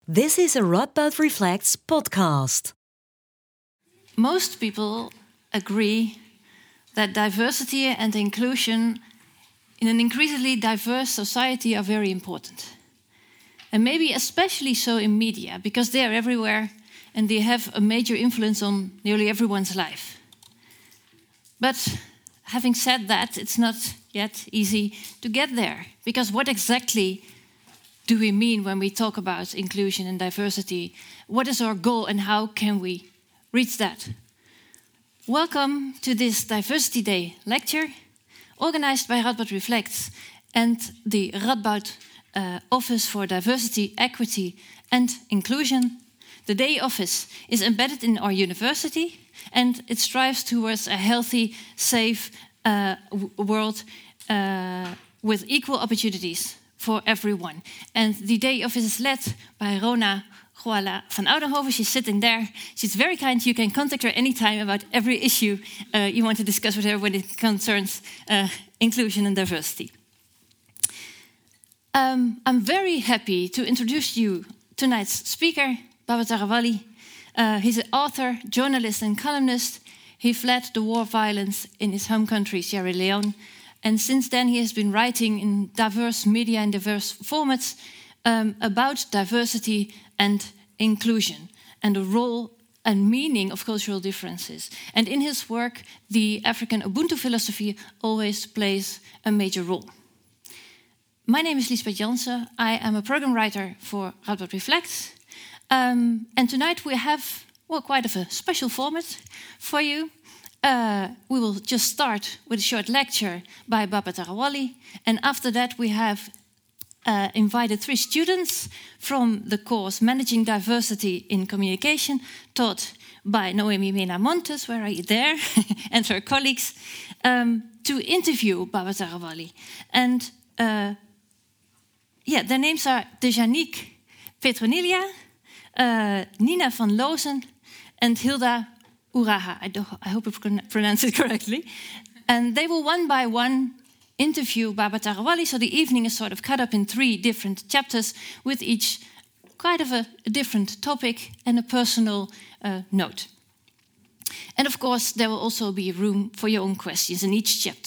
This is a Radboud Reflects podcast. Most people agree that diversity and inclusion in an increasingly diverse society are very important. And maybe especially so in media, because they are everywhere and they have a major influence on nearly everyone's life. But having said that, it's not yet easy to get there, because what exactly do we mean when we talk about inclusion and diversity? What is our goal and how can we reach that? Welcome to this Diversity Day lecture, organized by Radboud Reflects and the Radboud Office for Diversity, Equity and Inclusion. The Day Office is embedded in our university and it strives towards a healthy, safe world with equal opportunities for everyone. And the Day Office is led by Rona Goala van Oudenhoven. She's sitting there. She's very kind. You can contact her anytime about every issue you want to discuss with her when it concerns inclusion and diversity. I'm very happy to introduce you tonight's speaker, Baba Tarawally. He's an author, journalist and columnist. He fled the war violence in his home country, Sierra Leone. And since then he has been writing in diverse media and diverse formats about diversity and inclusion and the role and meaning of cultural differences. And in his work, the African Ubuntu philosophy always plays a major role. My name is Liesbeth Jansen. I am a program writer for Radboud Reflects. And tonight we have, quite of a special format for you. We will just start with a short lecture by Baba Tarawally. And after that we have invited 3 students from the course Managing Diversity in Communication, taught by Noemi Mena Montes, where are you there, and her colleagues, to interview Baba Tarawally. And their names are Dejanique Petronilia, Nina van Loozen, and Hilda Uraha. I hope I pronounced it correctly. And they will one by one interview Baba Tarawally, so the evening is sort of cut up in 3 different chapters with each kind of a different topic and a personal note. And of course, there will also be room for your own questions in each chapter.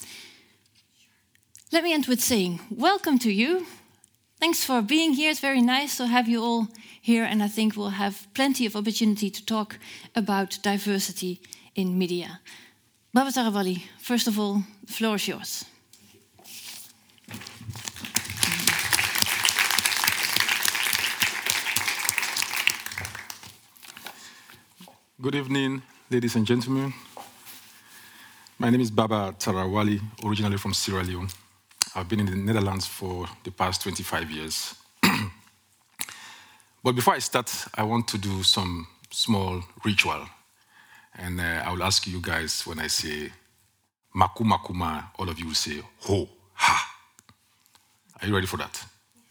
Let me end with saying welcome to you. Thanks for being here. It's very nice to have you all here, and I think we'll have plenty of opportunity to talk about diversity in media. Baba Tarawally, first of all, the floor is yours. Good evening, ladies and gentlemen. My name is Baba Tarawally, originally from Sierra Leone. I've been in the Netherlands for the past 25 years. But before I start, I want to do some small ritual. And I will ask you guys, when I say maku makuma, all of you will say ho, ha. Are you ready for that?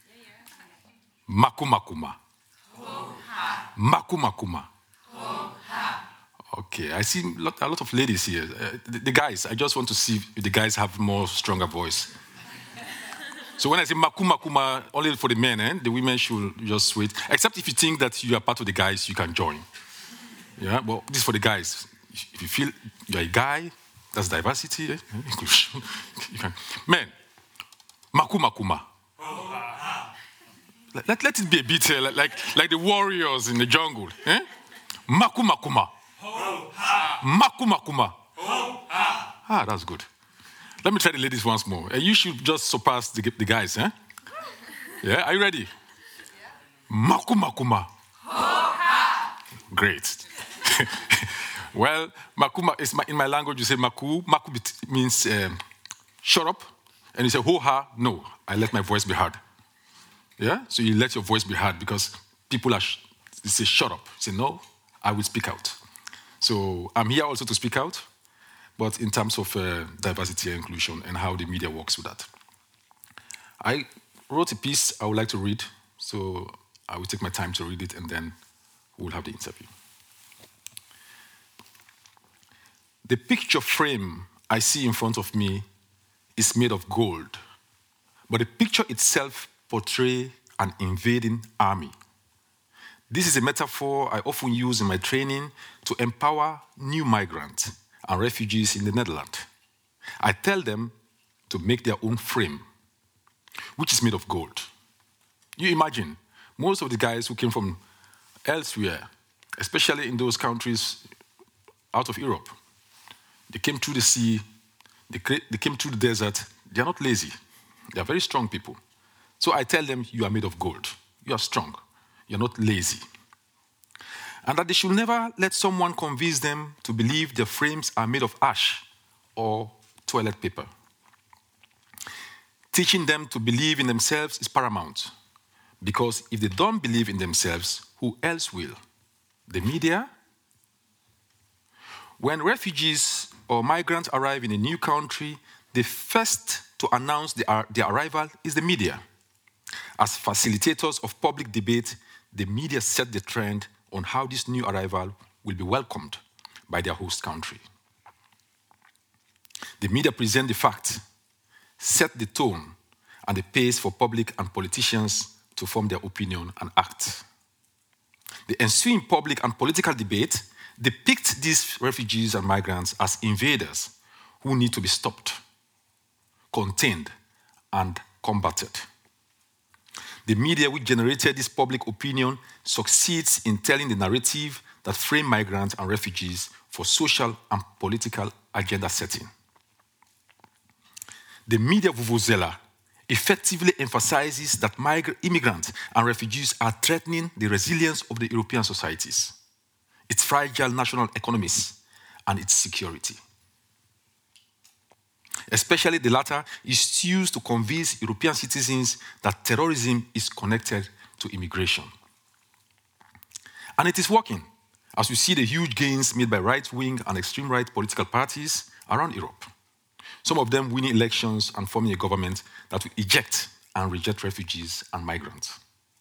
Maku makuma. Ho, ha. Maku makuma. Ho, ha. Okay, I see a lot of ladies here. The guys, I just want to see if the guys have more stronger voice. So when I say maku makuma, only for the men, the women should just wait. Except if you think that you are part of the guys, you can join. Yeah, but this is for the guys. If you feel you're a guy, that's diversity, inclusion. You can. Men, maku makuma. Let it be a bit like the warriors in the jungle. Eh? Maku makuma. Maku makuma. Ah, that's good. Let me try the ladies once more. You should just surpass the guys, eh? Yeah, are you ready? Yeah. Maku makuma. Great. Well, makuma is in my language. You say maku. Maku means shut up, and you say ho ha. No, I let my voice be heard. Yeah, so you let your voice be heard because people they say shut up. You say no, I will speak out. So I'm here also to speak out, but in terms of diversity and inclusion and how the media works with that. I wrote a piece I would like to read, so I will take my time to read it and then we'll have the interview. The picture frame I see in front of me is made of gold, but the picture itself portrays an invading army. This is a metaphor I often use in my training to empower new migrants and refugees in the Netherlands. I tell them to make their own frame, which is made of gold. You imagine, most of the guys who came from elsewhere, especially in those countries out of Europe, they came through the sea, they came through the desert. They are not lazy. They are very strong people. So I tell them, you are made of gold. You are strong. You are not lazy. And that they should never let someone convince them to believe their frames are made of ash or toilet paper. Teaching them to believe in themselves is paramount, because if they don't believe in themselves, who else will? The media? When refugees or migrants arrive in a new country, the first to announce their arrival is the media. As facilitators of public debate, the media set the trend on how this new arrival will be welcomed by their host country. The media present the fact, set the tone and the pace for public and politicians to form their opinion and act. The ensuing public and political debate depict these refugees and migrants as invaders who need to be stopped, contained, and combated. The media which generated this public opinion succeeds in telling the narrative that frame migrants and refugees for social and political agenda setting. The media vuvuzela effectively emphasizes that immigrants and refugees are threatening the resilience of the European societies, its fragile national economies, and its security. Especially the latter is used to convince European citizens that terrorism is connected to immigration. And it is working, as we see the huge gains made by right-wing and extreme-right political parties around Europe. Some of them winning elections and forming a government that will eject and reject refugees and migrants.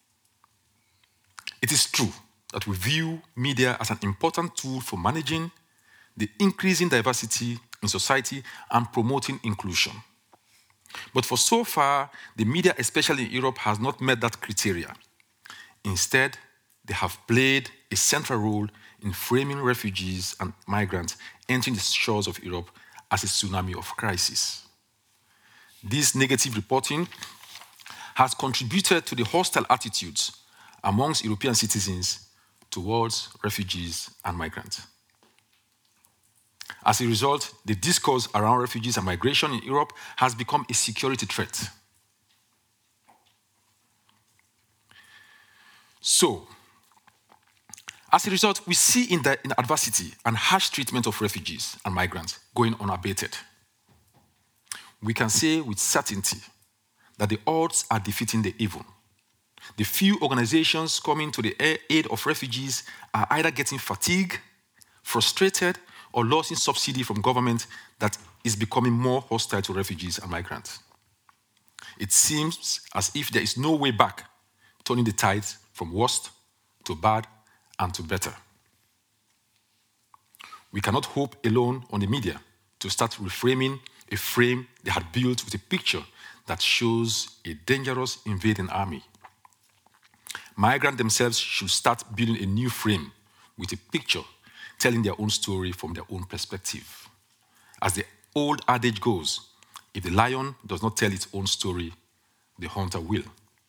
It is true that we view media as an important tool for managing the increasing diversity in society and promoting inclusion. But for so far, the media, especially in Europe, has not met that criteria. Instead, they have played a central role in framing refugees and migrants entering the shores of Europe as a tsunami of crisis. This negative reporting has contributed to the hostile attitudes amongst European citizens towards refugees and migrants. As a result, the discourse around refugees and migration in Europe has become a security threat. So, as a result, we see in adversity and harsh treatment of refugees and migrants going unabated. We can say with certainty that the odds are defeating the evil. The few organizations coming to the aid of refugees are either getting fatigued, frustrated, or losing subsidy from government that is becoming more hostile to refugees and migrants. It seems as if there is no way back, turning the tides from worst to bad and to better. We cannot hope alone on the media to start reframing a frame they had built with a picture that shows a dangerous invading army. Migrants themselves should start building a new frame with a picture telling their own story from their own perspective. As the old adage goes, if the lion does not tell its own story, the hunter will.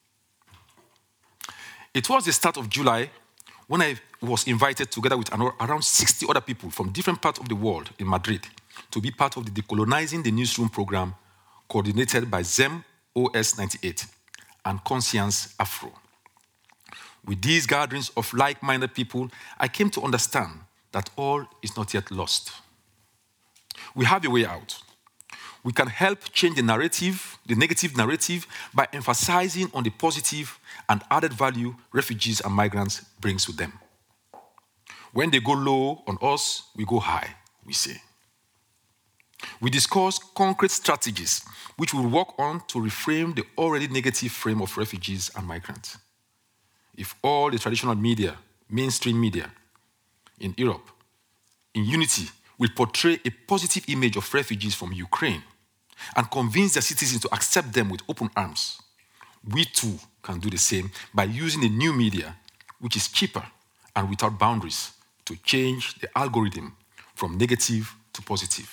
It was the start of July when I was invited together with around 60 other people from different parts of the world in Madrid to be part of the Decolonizing the Newsroom program coordinated by ZEM OS 98 and Conscience Afro. With these gatherings of like-minded people, I came to understand that all is not yet lost. We have a way out. We can help change the narrative, the negative narrative, by emphasizing on the positive and added value refugees and migrants brings with them. When they go low on us, we go high, we say. We discuss concrete strategies which we will work on to reframe the already negative frame of refugees and migrants. If all the traditional media, mainstream media in Europe, in unity, will portray a positive image of refugees from Ukraine and convince their citizens to accept them with open arms, we too can do the same by using the new media, which is cheaper and without boundaries to change the algorithm from negative to positive.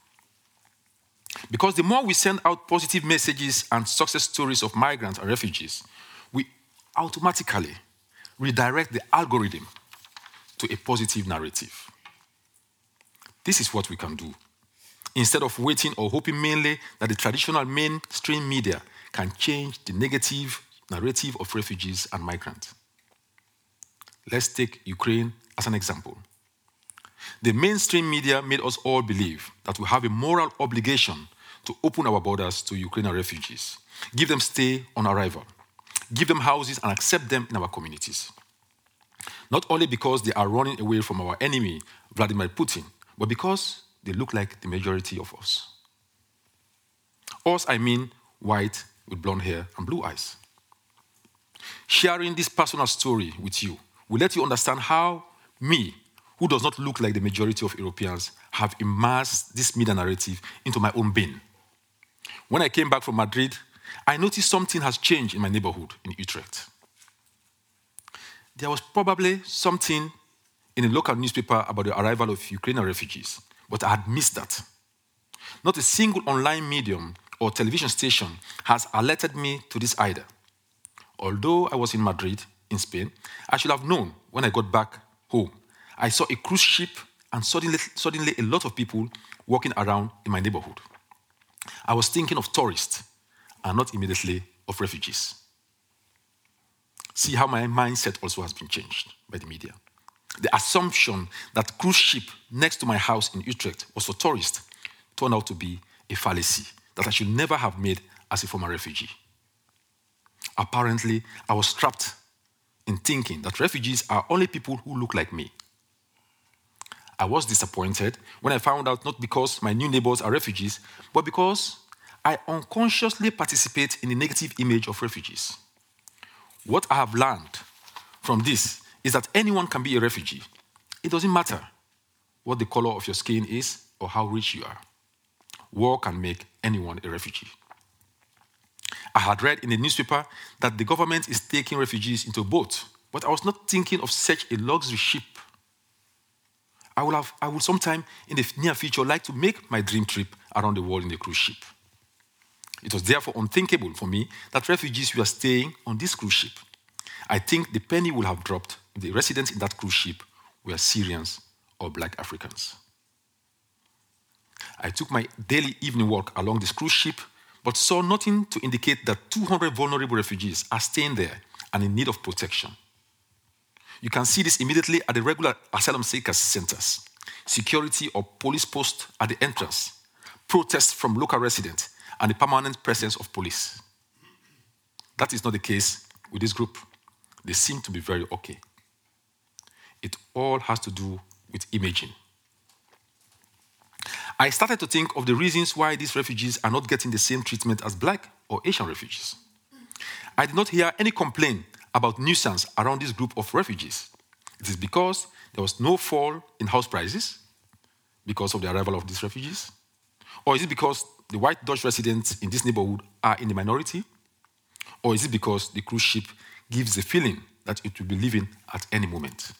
Because the more we send out positive messages and success stories of migrants and refugees, we automatically redirect the algorithm to a positive narrative. This is what we can do. Instead of waiting or hoping mainly that the traditional mainstream media can change the negative narrative of refugees and migrants. Let's take Ukraine as an example. The mainstream media made us all believe that we have a moral obligation to open our borders to Ukrainian refugees, give them stay on arrival, give them houses and accept them in our communities. Not only because they are running away from our enemy, Vladimir Putin, but because they look like the majority of us. Us, I mean white with blonde hair and blue eyes. Sharing this personal story with you will let you understand how me, who does not look like the majority of Europeans, have immersed this media narrative into my own being. When I came back from Madrid, I noticed something has changed in my neighborhood in Utrecht. There was probably something in a local newspaper about the arrival of Ukrainian refugees, but I had missed that. Not a single online medium or television station has alerted me to this either. Although I was in Madrid, in Spain, I should have known when I got back home. I saw a cruise ship and suddenly a lot of people walking around in my neighborhood. I was thinking of tourists and not immediately of refugees. See how my mindset also has been changed by the media. The assumption that cruise ship next to my house in Utrecht was for tourists turned out to be a fallacy that I should never have made as a former refugee. Apparently, I was trapped in thinking that refugees are only people who look like me. I was disappointed when I found out not because my new neighbors are refugees, but because I unconsciously participate in the negative image of refugees. What I have learned from this is that anyone can be a refugee. It doesn't matter what the color of your skin is or how rich you are. War can make anyone a refugee. I had read in the newspaper that the government is taking refugees into a boat, but I was not thinking of such a luxury ship. I would sometime in the near future like to make my dream trip around the world in a cruise ship. It was therefore unthinkable for me that refugees were staying on this cruise ship. I think the penny would have dropped if the residents in that cruise ship were Syrians or Black Africans. I took my daily evening walk along this cruise ship, but saw nothing to indicate that 200 vulnerable refugees are staying there and in need of protection. You can see this immediately at the regular asylum seekers centers, security or police posts at the entrance, protests from local residents, and the permanent presence of police. That is not the case with this group. They seem to be very okay. It all has to do with imaging. I started to think of the reasons why these refugees are not getting the same treatment as Black or Asian refugees. I did not hear any complaint about nuisance around this group of refugees. It is because there was no fall in house prices because of the arrival of these refugees? Or is it because the white Dutch residents in this neighborhood are in the minority? Or is it because the cruise ship gives the feeling that it will be leaving at any moment?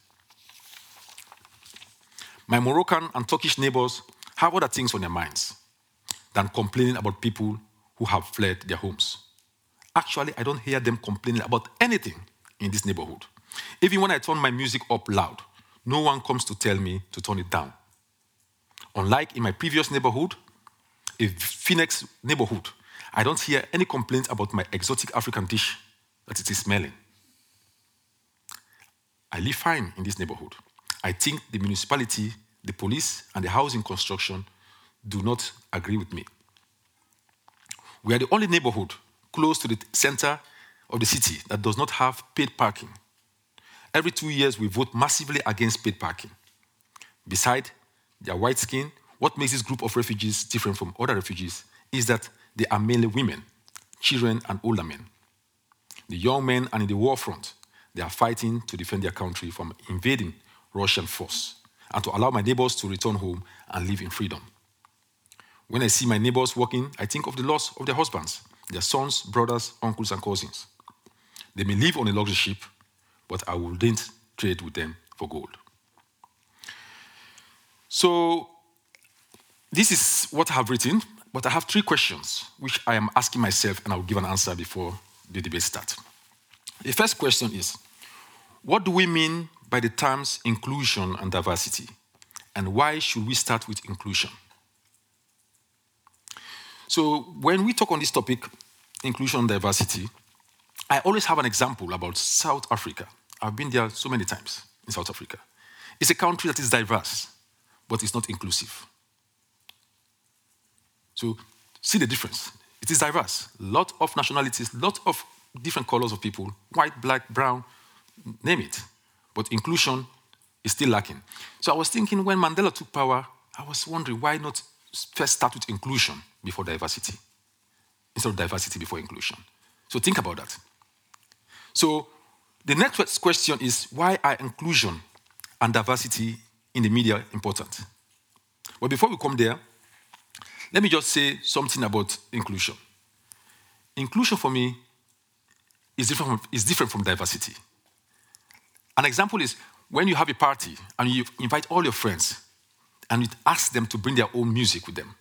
My Moroccan and Turkish neighbors have other things on their minds than complaining about people who have fled their homes. Actually, I don't hear them complaining about anything in this neighborhood. Even when I turn my music up loud, no one comes to tell me to turn it down. Unlike in my previous neighborhood, a Phoenix neighborhood, I don't hear any complaints about my exotic African dish that it is smelling. I live fine in this neighborhood. I think the municipality, the police, and the housing construction do not agree with me. We are the only neighborhood close to the center of the city that does not have paid parking. Every 2 years, we vote massively against paid parking. Besides their white skin, what makes this group of refugees different from other refugees is that they are mainly women, children, and older men. The young men are in the war front. They are fighting to defend their country from invading Russian force and to allow my neighbors to return home and live in freedom. When I see my neighbors working, I think of the loss of their husbands, their sons, brothers, uncles, and cousins. They may live on a luxury ship, but I wouldn't trade with them for gold. So this is what I have written, but I have 3 questions which I am asking myself, and I will give an answer before the debate starts. The first question is, what do we mean by the terms inclusion and diversity? And why should we start with inclusion? So when we talk on this topic, inclusion and diversity, I always have an example about South Africa. I've been there so many times in South Africa. It's a country that is diverse, but it's not inclusive. So see the difference. It is diverse. Lot of nationalities, lot of different colors of people, white, black, brown, name it. But inclusion is still lacking. So I was thinking when Mandela took power, I was wondering why not first start with inclusion before diversity, instead of diversity before inclusion. So think about that. So the next question is, why are inclusion and diversity in the media important? But before we come there, let me just say something about inclusion. Inclusion for me is different from diversity. An example is when you have a party and you invite all your friends and you ask them to bring their own music with them.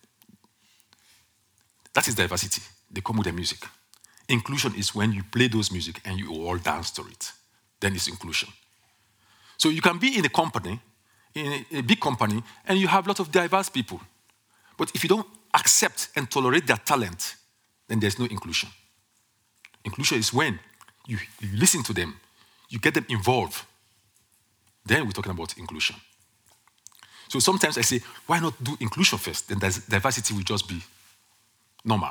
That is diversity. They come with their music. Inclusion is when you play those music and you all dance to it. Then it's inclusion. So you can be in a company, in a big company, and you have a lot of diverse people. But if you don't accept and tolerate their talent, then there's no inclusion. Inclusion is when you listen to them, you get them involved. Then we're talking about inclusion. So sometimes I say, why not do inclusion first? Then diversity will just be normal.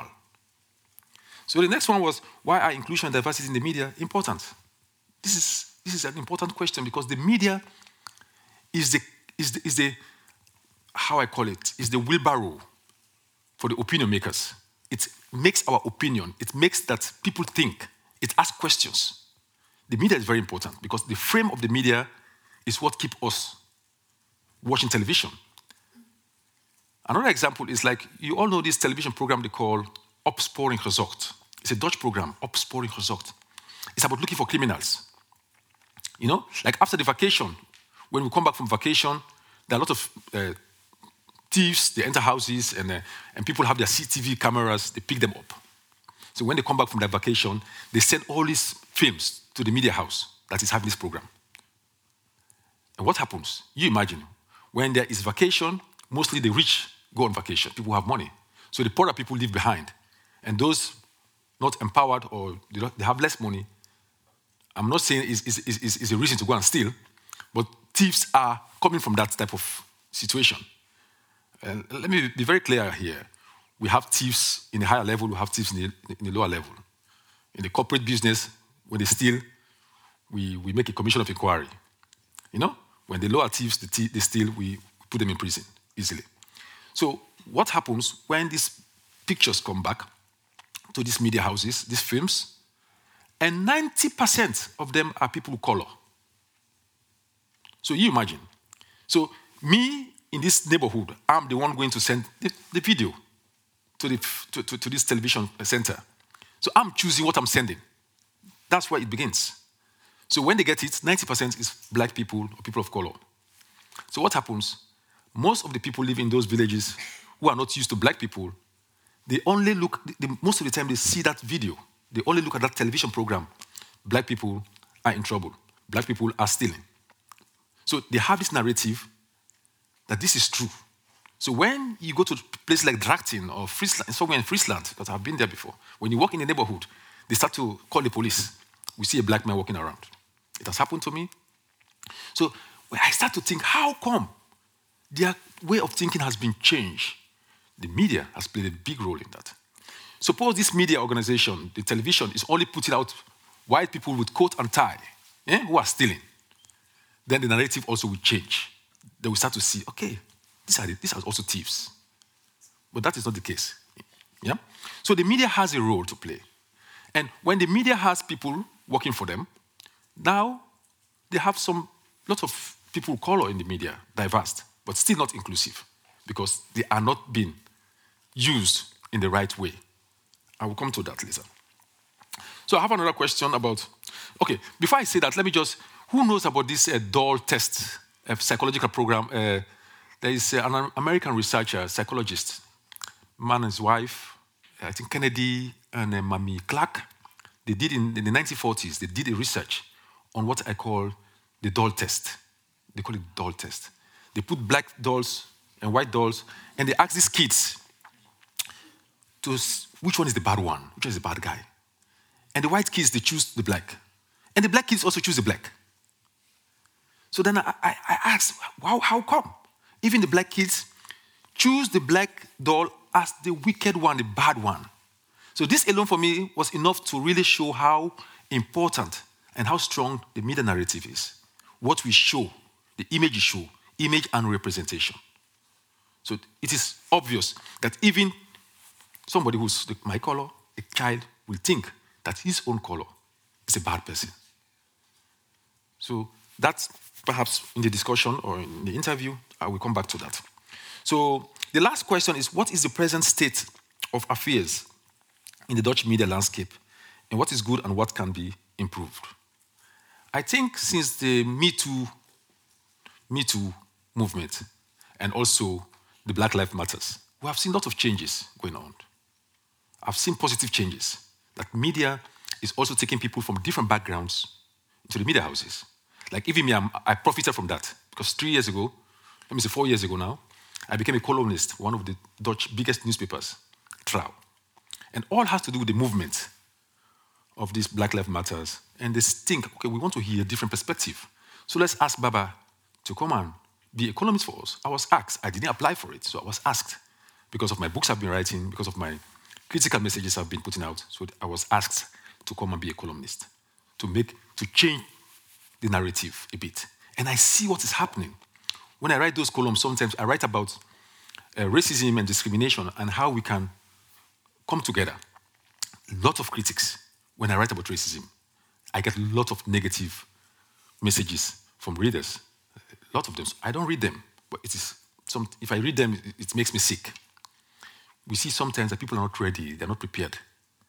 So the next one was, why are inclusion and diversity in the media important? This is an important question because the media is the how I call it, is the wheelbarrow for the opinion makers. It makes our opinion. It makes that people think. It asks questions. The media is very important because the frame of the media is what keeps us watching television. Another example is like, you all know this television program they call Opsporing Gezocht. It's a Dutch program, Opsporing Gezocht. It's about looking for criminals. You know, like after the vacation, when we come back from vacation, there are a lot of thieves, they enter houses and people have their CCTV cameras, they pick them up. So when they come back from their vacation, they send all these films to the media house that is having this program. And what happens? You imagine, when there is vacation, mostly the rich go on vacation, people who have money. So the poorer people leave behind. And those not empowered or they have less money, I'm not saying is a reason to go and steal, but thieves are coming from that type of situation. And let me be very clear here. We have thieves in the higher level, we have thieves in the lower level. In the corporate business, when they steal, we make a commission of inquiry. You know, when the lower thieves, they steal, we put them in prison easily. So what happens when these pictures come back to these media houses, these films, and 90% of them are people of color. So you imagine. So me in this neighborhood, I'm the one going to send the video to this television center. So I'm choosing what I'm sending. That's where it begins. So when they get it, 90% is black people or people of color. So what happens? Most of the people living in those villages who are not used to black people, they only look, most of the time they see that video. They only look at that television program. Black people are in trouble. Black people are stealing. So they have this narrative that this is true. So when you go to a place like Drachten or Friesland, somewhere in Friesland, because I've been there before, when you walk in the neighborhood, they start to call the police. We see a black man walking around. It has happened to me. So when I start to think, how come their way of thinking has been changed? The media has played a big role in that. Suppose this media organization, the television, is only putting out white people with coat and tie who are stealing. Then the narrative also will change. They will start to see, okay, these are also thieves. But that is not the case. Yeah? So the media has a role to play. And when the media has people working for them, now they have lots of people of color in the media, diverse, but still not inclusive, because they are not being used in the right way. I will come to that later. So I have another question about, okay, before I say that, let me just Who knows about this doll test, psychological program? There is an American researcher, psychologist, man and his wife, I think Kennedy and Mamie Clark. They did in the 1940s, they did a research on what I call the doll test. They call it doll test. They put black dolls and white dolls, and they asked these kids which one is the bad one, which one is the bad guy. And the white kids, they choose the black. And the black kids also choose the black. So then I asked, wow, how come? Even the black kids choose the black doll as the wicked one, the bad one. So this alone for me was enough to really show how important and how strong the media narrative is. What we show, the image you show, image and representation. So it is obvious that even somebody who's my color, a child, will think that his own color is a bad person. So that's perhaps in the discussion or in the interview, I will come back to that. So the last question is, what is the present state of affairs in the Dutch media landscape, and what is good and what can be improved? I think since the Me Too movement and also the Black Lives Matters, we have seen a lot of changes going on. I've seen positive changes, that media is also taking people from different backgrounds into the media houses. Like even me, I profited from that, because 4 years ago now, I became a columnist, one of the Dutch biggest newspapers, Trouw. And all has to do with the movement of these Black Lives Matters. And they think, okay, we want to hear a different perspective. So let's ask Baba to come and be a columnist for us. I was asked. I didn't apply for it, so I was asked because of my books I've been writing, because of my critical messages I've been putting out. So I was asked to come and be a columnist, to change the narrative a bit. And I see what is happening. When I write those columns, sometimes I write about racism and discrimination and how we can come together. A lot of critics, when I write about racism, I get a lot of negative messages from readers. A lot of them. I don't read them, but if I read them, it makes me sick. We see sometimes that people are not ready, they're not prepared.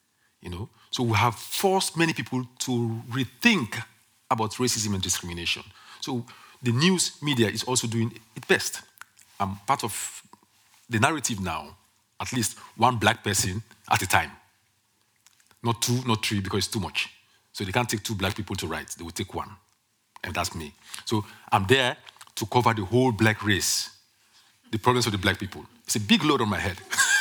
So we have forced many people to rethink about racism and discrimination. So the news media is also doing its best. I'm part of the narrative now, at least one black person at a time. Not two, not three, because it's too much. So they can't take 2 black people to write, they will take 1. And that's me. So I'm there to cover the whole black race, the problems of the black people. It's a big load on my head.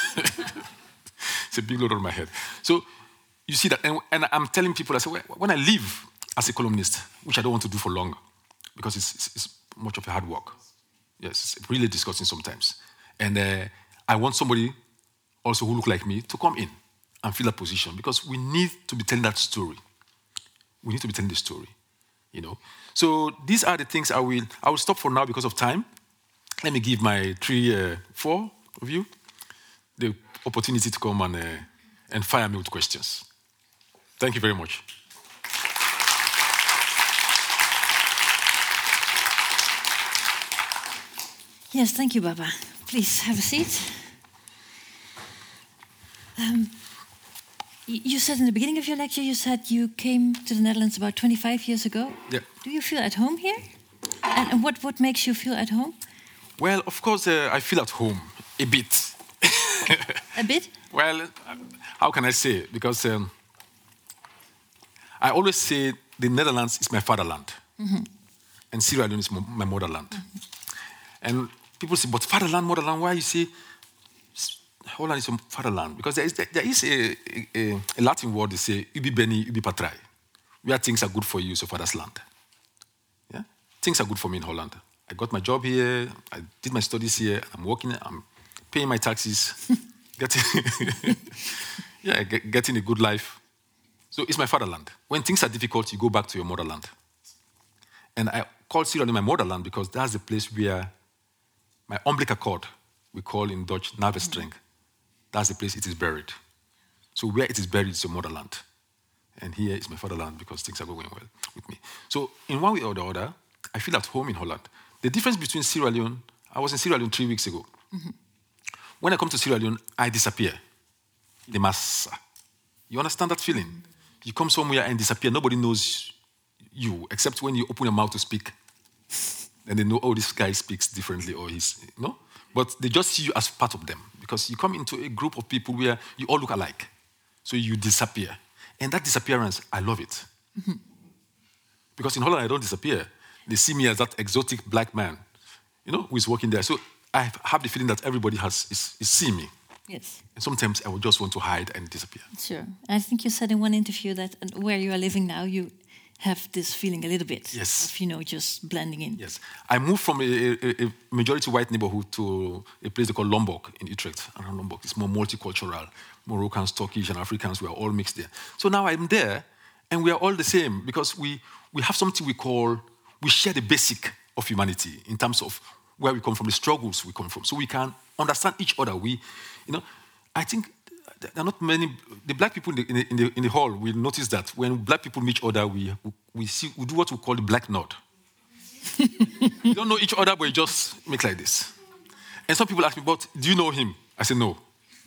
It's a big load on my head. So you see that, and I'm telling people, I say, when I leave as a columnist, which I don't want to do for long, because it's much of a hard work. Yes, it's really disgusting sometimes. And I want somebody also who look like me to come in and fill that position, because we need to be telling that story. We need to be telling the story, So these are the things I will stop for now because of time. Let me give my 4 of you the opportunity to come and fire me with questions. Thank you very much. Yes, thank you, Baba. Please have a seat. You said in the beginning of your lecture, you said you came to the Netherlands about 25 years ago. Yeah. Do you feel at home here? And what makes you feel at home? Well, of course, I feel at home a bit. A bit? Well, how can I say it? Because I always say the Netherlands is my fatherland. Mm-hmm. And Sierra Leone is my motherland. Mm-hmm. And people say, but fatherland, motherland, why you say Holland is a fatherland? Because there is a Latin word, they say, ubi beni, ubi patrai. Where things are good for you, so father's land. Yeah? Things are good for me in Holland. I got my job here, I did my studies here, I'm working, I'm paying my taxes, getting a good life. So it's my fatherland. When things are difficult, you go back to your motherland. And I call Sierra Leone my motherland because that's the place where my umbilical cord, we call in Dutch navelstreng, that's the place it is buried. So where it is buried is your motherland. And here is my fatherland because things are going well with me. So in one way or the other, I feel at home in Holland. The difference between Sierra Leone, I was in Sierra Leone 3 weeks ago. Mm-hmm. When I come to Sierra Leone, I disappear. The massa. You understand that feeling? You come somewhere and disappear. Nobody knows you, except when you open your mouth to speak. And they know, oh, this guy speaks differently, or he's, But they just see you as part of them, because you come into a group of people where you all look alike. So you disappear. And that disappearance, I love it. Because in Holland, I don't disappear. They see me as that exotic black man, who is working there. So I have the feeling that everybody is seeing me. Yes. And sometimes I would just want to hide and disappear. Sure. I think you said in one interview that where you are living now, you have this feeling a little bit Yes. of, just blending in. Yes. I moved from a majority white neighborhood to a place they call Lombok in Utrecht. Around Lombok, it's more multicultural. Moroccans, Turkish, and Africans, we are all mixed there. So now I'm there, and we are all the same, because we have something we share the basic of humanity in terms of where we come from, the struggles we come from. So we can understand each other. I think there are not many. The black people in the hall will notice that when black people meet each other, we do what we call the black nod. We don't know each other, but we just make like this. And some people ask me, "But do you know him?" I say, "No."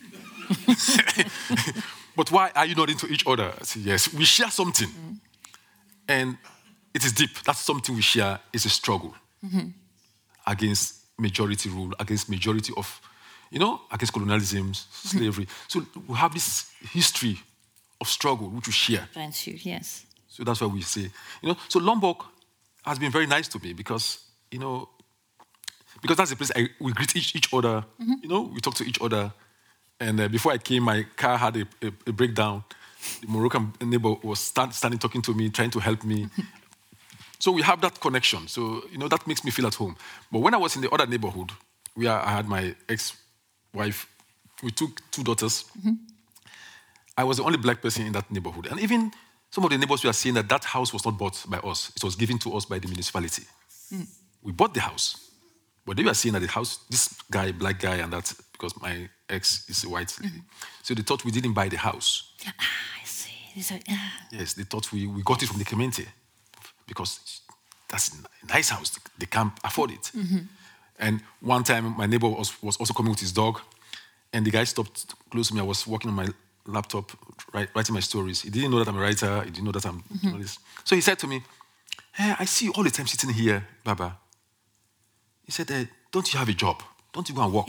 But why are you not into each other? I say, yes, we share something, and it is deep. That's something we share. It's a struggle against majority rule, against majority of. Against colonialism, slavery. So we have this history of struggle which we share. Yes. So that's why we say, So Lombok has been very nice to me because that's the place we greet each other. We talk to each other. And before I came, my car had a breakdown. The Moroccan neighbor was standing talking to me, trying to help me. So we have that connection. So that makes me feel at home. But when I was in the other neighborhood, where I had my ex-wife, we took 2 daughters. I was the only black person in that neighborhood. And even some of the neighbors were saying that house was not bought by us. It was given to us by the municipality. We bought the house. But they were saying that the house, this guy, black guy, and that, because my ex is a white lady. So they thought we didn't buy the house. I see. Yes, they thought we got it from the community. Because that's a nice house. They can't afford it. And one time, my neighbor was also coming with his dog, and the guy stopped close to me. I was working on my laptop, writing my stories. He didn't know that I'm a writer. He didn't know that I'm a journalist. So he said to me, "Hey, I see you all the time sitting here, Baba." He said, "Don't you have a job? Don't you go and work?"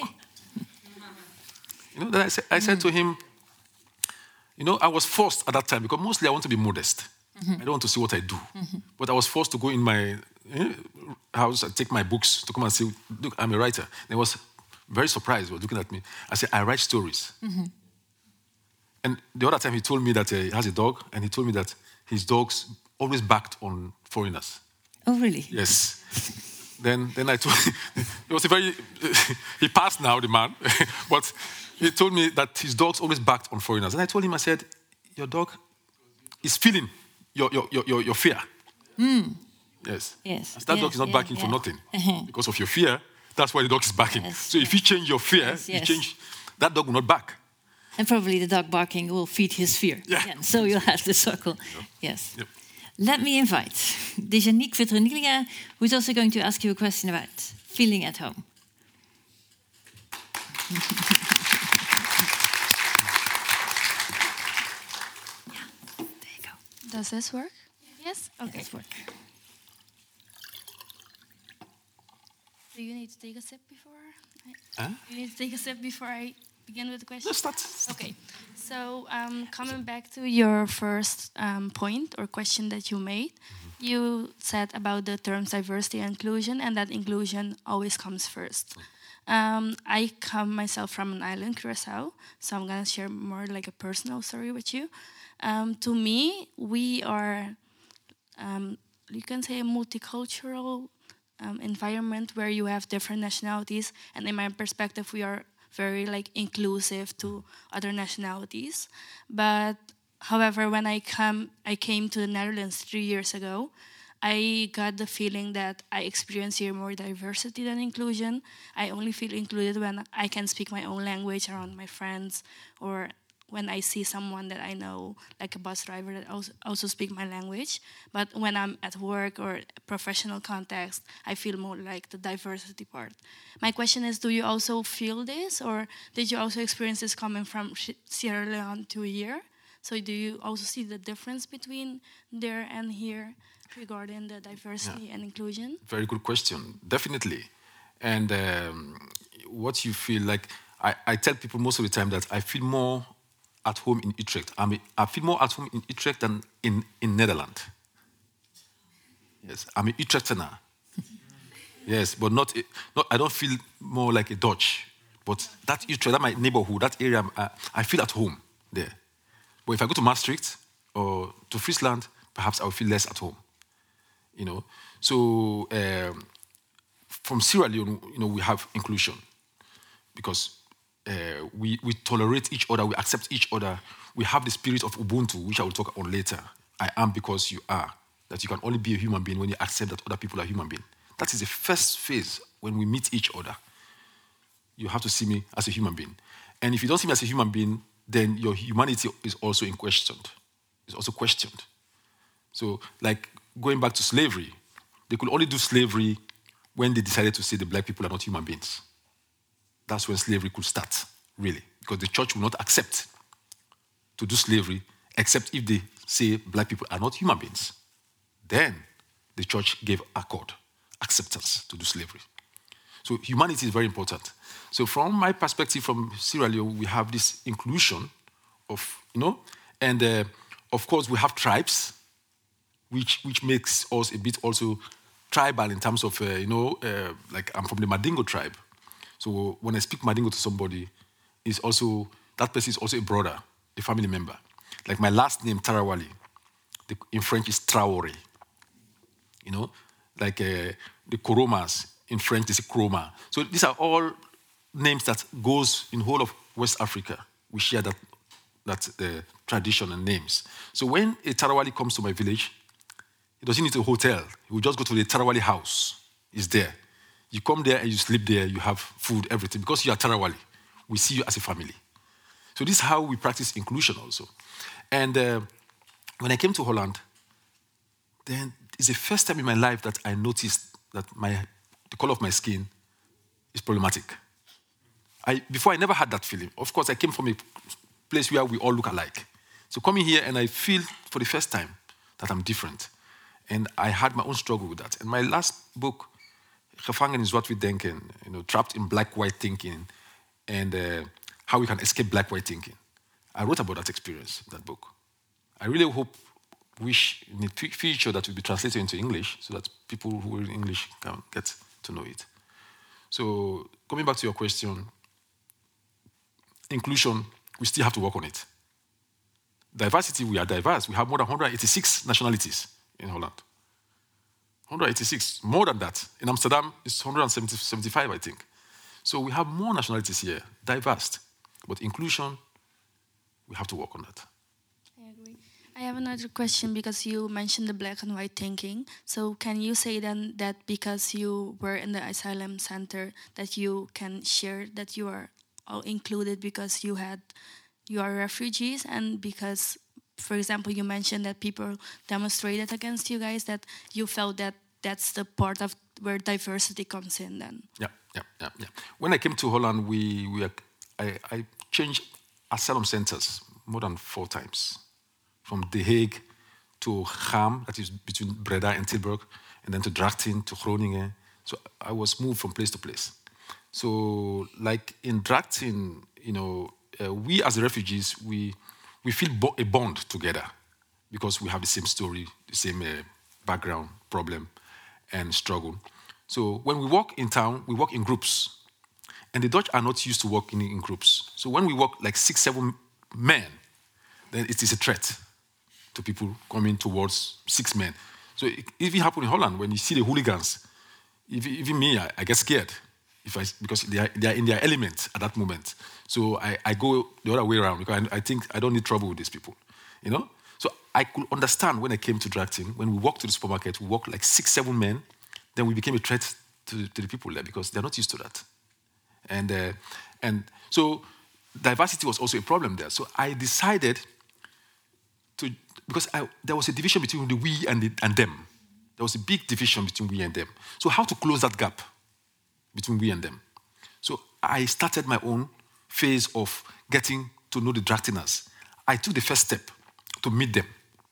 Then I said to him, I was forced at that time, because mostly I want to be modest. I don't want to see what I do. But I was forced to go in my house and take my books to come and say, "Look, I'm a writer." And he was very surprised. He was looking at me. I said, "I write stories." And the other time he told me that he has a dog, and he told me that his dogs always backed on foreigners. Oh, really? Yes. Then I told him, it was he passed now, the man, but he told me that his dogs always backed on foreigners. And I told him, I said, "Your dog is feeling your fear." Yes. That dog is not backing for nothing. Because of your fear, that's why the dog is backing. So if you change your fear, that dog will not back. And probably the dog barking will feed his fear. Again. So you'll have the circle. Yes. Yep. Let me invite Dejanique Vitronilia, who is also going to ask you a question about feeling at home. There you go. Does this work? Yes? Okay. Yes, work. Do you need to take a sip before? You need to take a sip before I begin with the question? Let's start. Okay. So coming back to your first point or question that you made, you said about the terms diversity and inclusion, and that inclusion always comes first. I come myself from an island, Curaçao, so I'm going to share more like a personal story with you. To me, we are, you can say, a multicultural environment where you have different nationalities, and in my perspective, we are very inclusive to other nationalities. But however, when I came to the Netherlands 3 years ago, I got the feeling that I experience here more diversity than inclusion. I only feel included when I can speak my own language around my friends, or when I see someone that I know, like a bus driver that also speak my language. But when I'm at work or professional context, I feel more like the diversity part. My question is, do you also feel this, or did you also experience this coming from Sierra Leone to here? So do you also see the difference between there and here? regarding the diversity and inclusion? Very good question. Definitely. And what you feel like, I tell people most of the time that I feel more at home in Utrecht. I feel more at home in Utrecht than in Netherlands. Yes, I'm an Utrechtener. Yes, but not. I don't feel more like a Dutch. But that Utrecht, that my neighborhood, that area, I feel at home there. But if I go to Maastricht or to Friesland, perhaps I will feel less at home. You know. So from Sierra Leone, we have inclusion because we tolerate each other, we accept each other. We have the spirit of Ubuntu, which I will talk on later. I am because you are. That you can only be a human being when you accept that other people are human beings. That is the first phase when we meet each other. You have to see me as a human being. And if you don't see me as a human being, then your humanity is also in question. It's also questioned. So, like going back to slavery, they could only do slavery when they decided to say the black people are not human beings. That's when slavery could start, really. Because the church will not accept to do slavery except if they say black people are not human beings. Then the church gave acceptance to do slavery. So humanity is very important. So from my perspective, from Sierra Leone, we have this inclusion of, and of course we have tribes, which makes us a bit also tribal in terms of, like I'm from the Mandingo tribe. So when I speak Mandingo to somebody, that person is also a brother, a family member. Like my last name, Tarawali, in French is Traoré. Like the Koromas, in French is Kroma. So these are all names that goes in whole of West Africa. We share that tradition and names. So when a Tarawali comes to my village, he doesn't need a hotel. He will just go to the Tarawali house. It's there. You come there and you sleep there. You have food, everything. Because you are Tarawali, we see you as a family. So this is how we practice inclusion also. And when I came to Holland, then it's the first time in my life that I noticed that the color of my skin is problematic. Before I never had that feeling. Of course, I came from a place where we all look alike. So coming here and I feel for the first time that I'm different. And I had my own struggle with that. And my last book, Gevangen is Wat We Denken, trapped in black-white thinking, and how we can escape black-white thinking. I wrote about that experience, that book. I really wish in the future that will be translated into English so that people who read English can get to know it. So coming back to your question, inclusion, we still have to work on it. Diversity, we are diverse. We have more than 186 nationalities in Holland. 186, more than that. In Amsterdam, it's 175, I think. So we have more nationalities here, diverse. But inclusion, we have to work on that. I agree. I have another question because you mentioned the black and white thinking. So can you say then that because you were in the asylum center that you can share that you are all included because you are refugees, and because, for example, you mentioned that people demonstrated against you guys, that you felt that that's the part of where diversity comes in then? Yeah. When I came to Holland, I changed asylum centers more than 4 times. From The Hague to Cham, that is between Breda and Tilburg, and then to Drachten, to Groningen. So I was moved from place to place. So like in Drachten, we as refugees, we feel a bond together because we have the same story, the same background, problem, and struggle. So when we walk in town, we walk in groups. And the Dutch are not used to working in groups. So when we walk like 6, 7 men, then it is a threat to people coming towards 6 men. So it even happens in Holland when you see the hooligans. Even me, I get scared because they are in their element at that moment. So I go the other way around because I think I don't need trouble with these people, So I could understand when I came to Drachten, when we walked to the supermarket, we walked like 6, 7 men, then we became a threat to the people there because they're not used to that. And so diversity was also a problem there. So I decided because there was a division between the we and them. There was a big division between we and them. So how to close that gap between we and them? So I started my own phase of getting to know the Drachteners. I took the first step to meet them.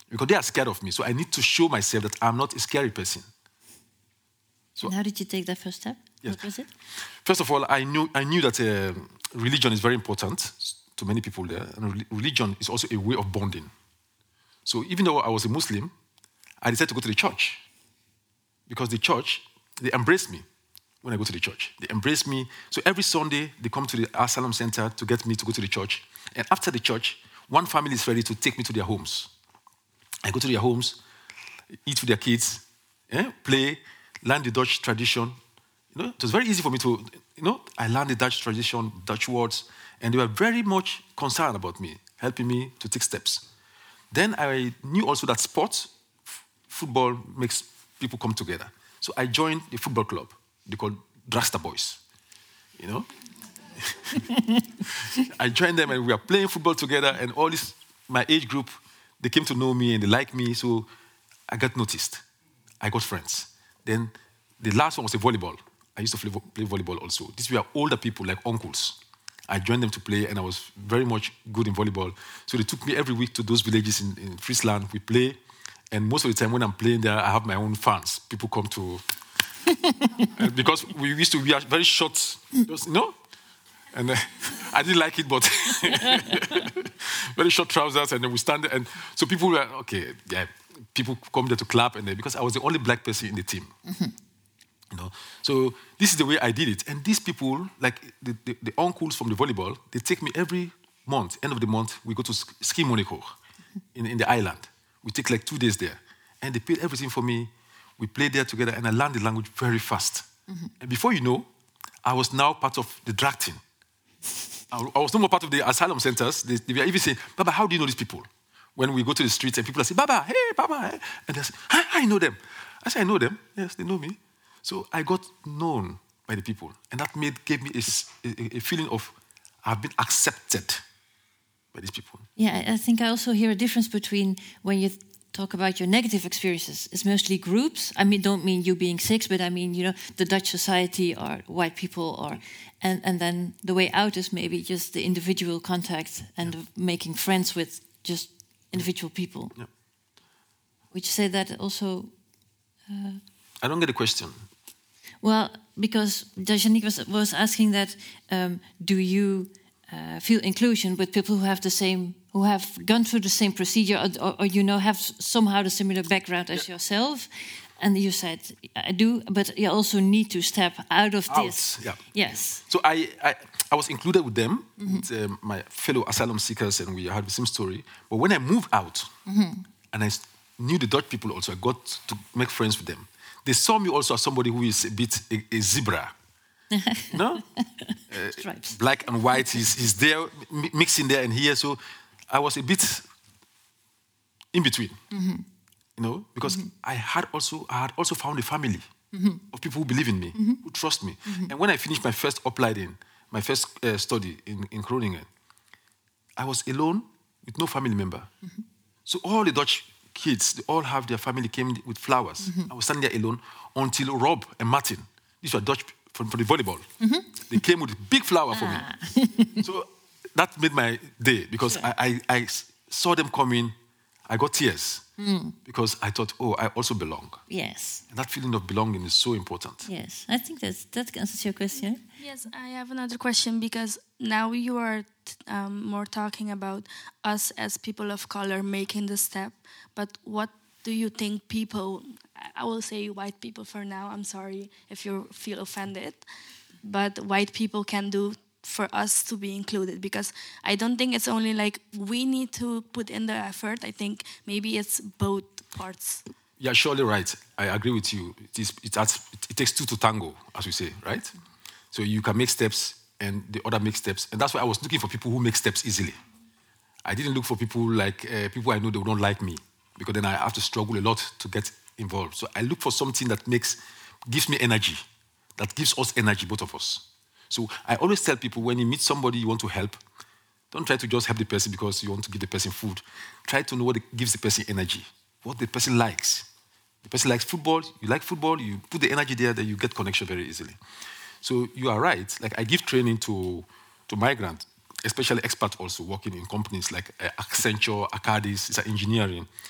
because they are scared of me. So I need to show myself that I'm not a scary person. And how did you take that first step? Yes. What was it? First of all, I knew that religion is very important to many people there, and religion is also a way of bonding. So even though I was a Muslim, I decided to go to the church, because the church, they embrace me when I go to the church. They embrace me. So every Sunday, they come to the Asylum Center to get me to go to the church. And after the church, one family is ready to take me to their homes. I go to their homes, eat with their kids, play, learn the Dutch tradition. It was very easy for me to, I learned the Dutch tradition, Dutch words, and they were very much concerned about me, helping me to take steps. Then I knew also that football makes people come together. So I joined the football club. They called Drasta Boys. I joined them and we were playing football together, and all this, my age group, they came to know me and they liked me, so I got noticed. I got friends. Then the last one was a volleyball. I used to play volleyball also. These were older people, like uncles. I joined them to play, and I was very much good in volleyball. So they took me every week to those villages in Friesland. We play, and most of the time when I'm playing there, I have my own fans. People come to... because we used to wear very short, and I didn't like it, but very short trousers, and then we stand there, and so people were, okay, yeah, people come there to clap, and because I was the only black person in the team. So this is the way I did it. And these people, like the uncles from the volleyball, they take me every month, end of the month, we go to Ski Monaco in the island. We take like 2 days there. And they paid everything for me. We played there together, and I learned the language very fast. And before you know, I was now part of the drag team. I was no more part of the asylum centers. They were even saying, Baba, how do you know these people? When we go to the streets and people are saying, Baba, hey, Baba. Hey. And they say, I know them. I say, I know them. Yes, they know me. So I got known by the people. And that gave me a feeling of I've been accepted by these people. Yeah, I think I also hear a difference between when you talk about your negative experiences. It's mostly groups. I don't mean you being sick, but I mean, the Dutch society or white people, and then the way out is maybe just the individual contact and making friends with just individual people. Yeah. Would you say that also? I don't get the question. Well, because Dajanique was asking that, do you feel inclusion with people who have gone through the same procedure, or have somehow the similar background as yourself? And you said, I do, but you also need to step out of this. Yeah. Yes. So I was included with them, with my fellow asylum seekers, and we had the same story. But when I moved out, and I knew the Dutch people also, I got to make friends with them. They saw me also as somebody who is a bit a zebra. No? Stripes. Black and white, he's there, mixing there and here. So I was a bit in between, because I had also found a family of people who believe in me, who trust me. And when I finished my first opleiding, my first study in Groningen, I was alone with no family member. So all the Dutch kids, they all have their family came with flowers. I was standing there alone until Rob and Martin, these were Dutch from the volleyball, they came with a big flower for me. So that made my day, because I saw them coming. I got tears because I thought, I also belong. Yes. And that feeling of belonging is so important. Yes, I think that answers your question. Yes, I have another question, because now you are more talking about us as people of color making the step. But what do you think people, I will say white people for now, I'm sorry if you feel offended, but white people can do for us to be included? Because I don't think it's only like we need to put in the effort. I think maybe it's both parts. Yeah, surely right. I agree with you. It takes two to tango, as we say, right? So you can make steps and the other make steps. And that's why I was looking for people who make steps easily. I didn't look for people like people I know they don't like me, because then I have to struggle a lot to get involved. So I look for something that gives me energy, that gives us energy, both of us. So I always tell people, when you meet somebody you want to help, don't try to just help the person because you want to give the person food. Try to know what gives the person energy, what the person likes. The person likes football, you like football, you put the energy there, then you get connection very easily. So you are right. Like I give training to migrants, especially expats also working in companies like Accenture, Arcadis, it's engineering.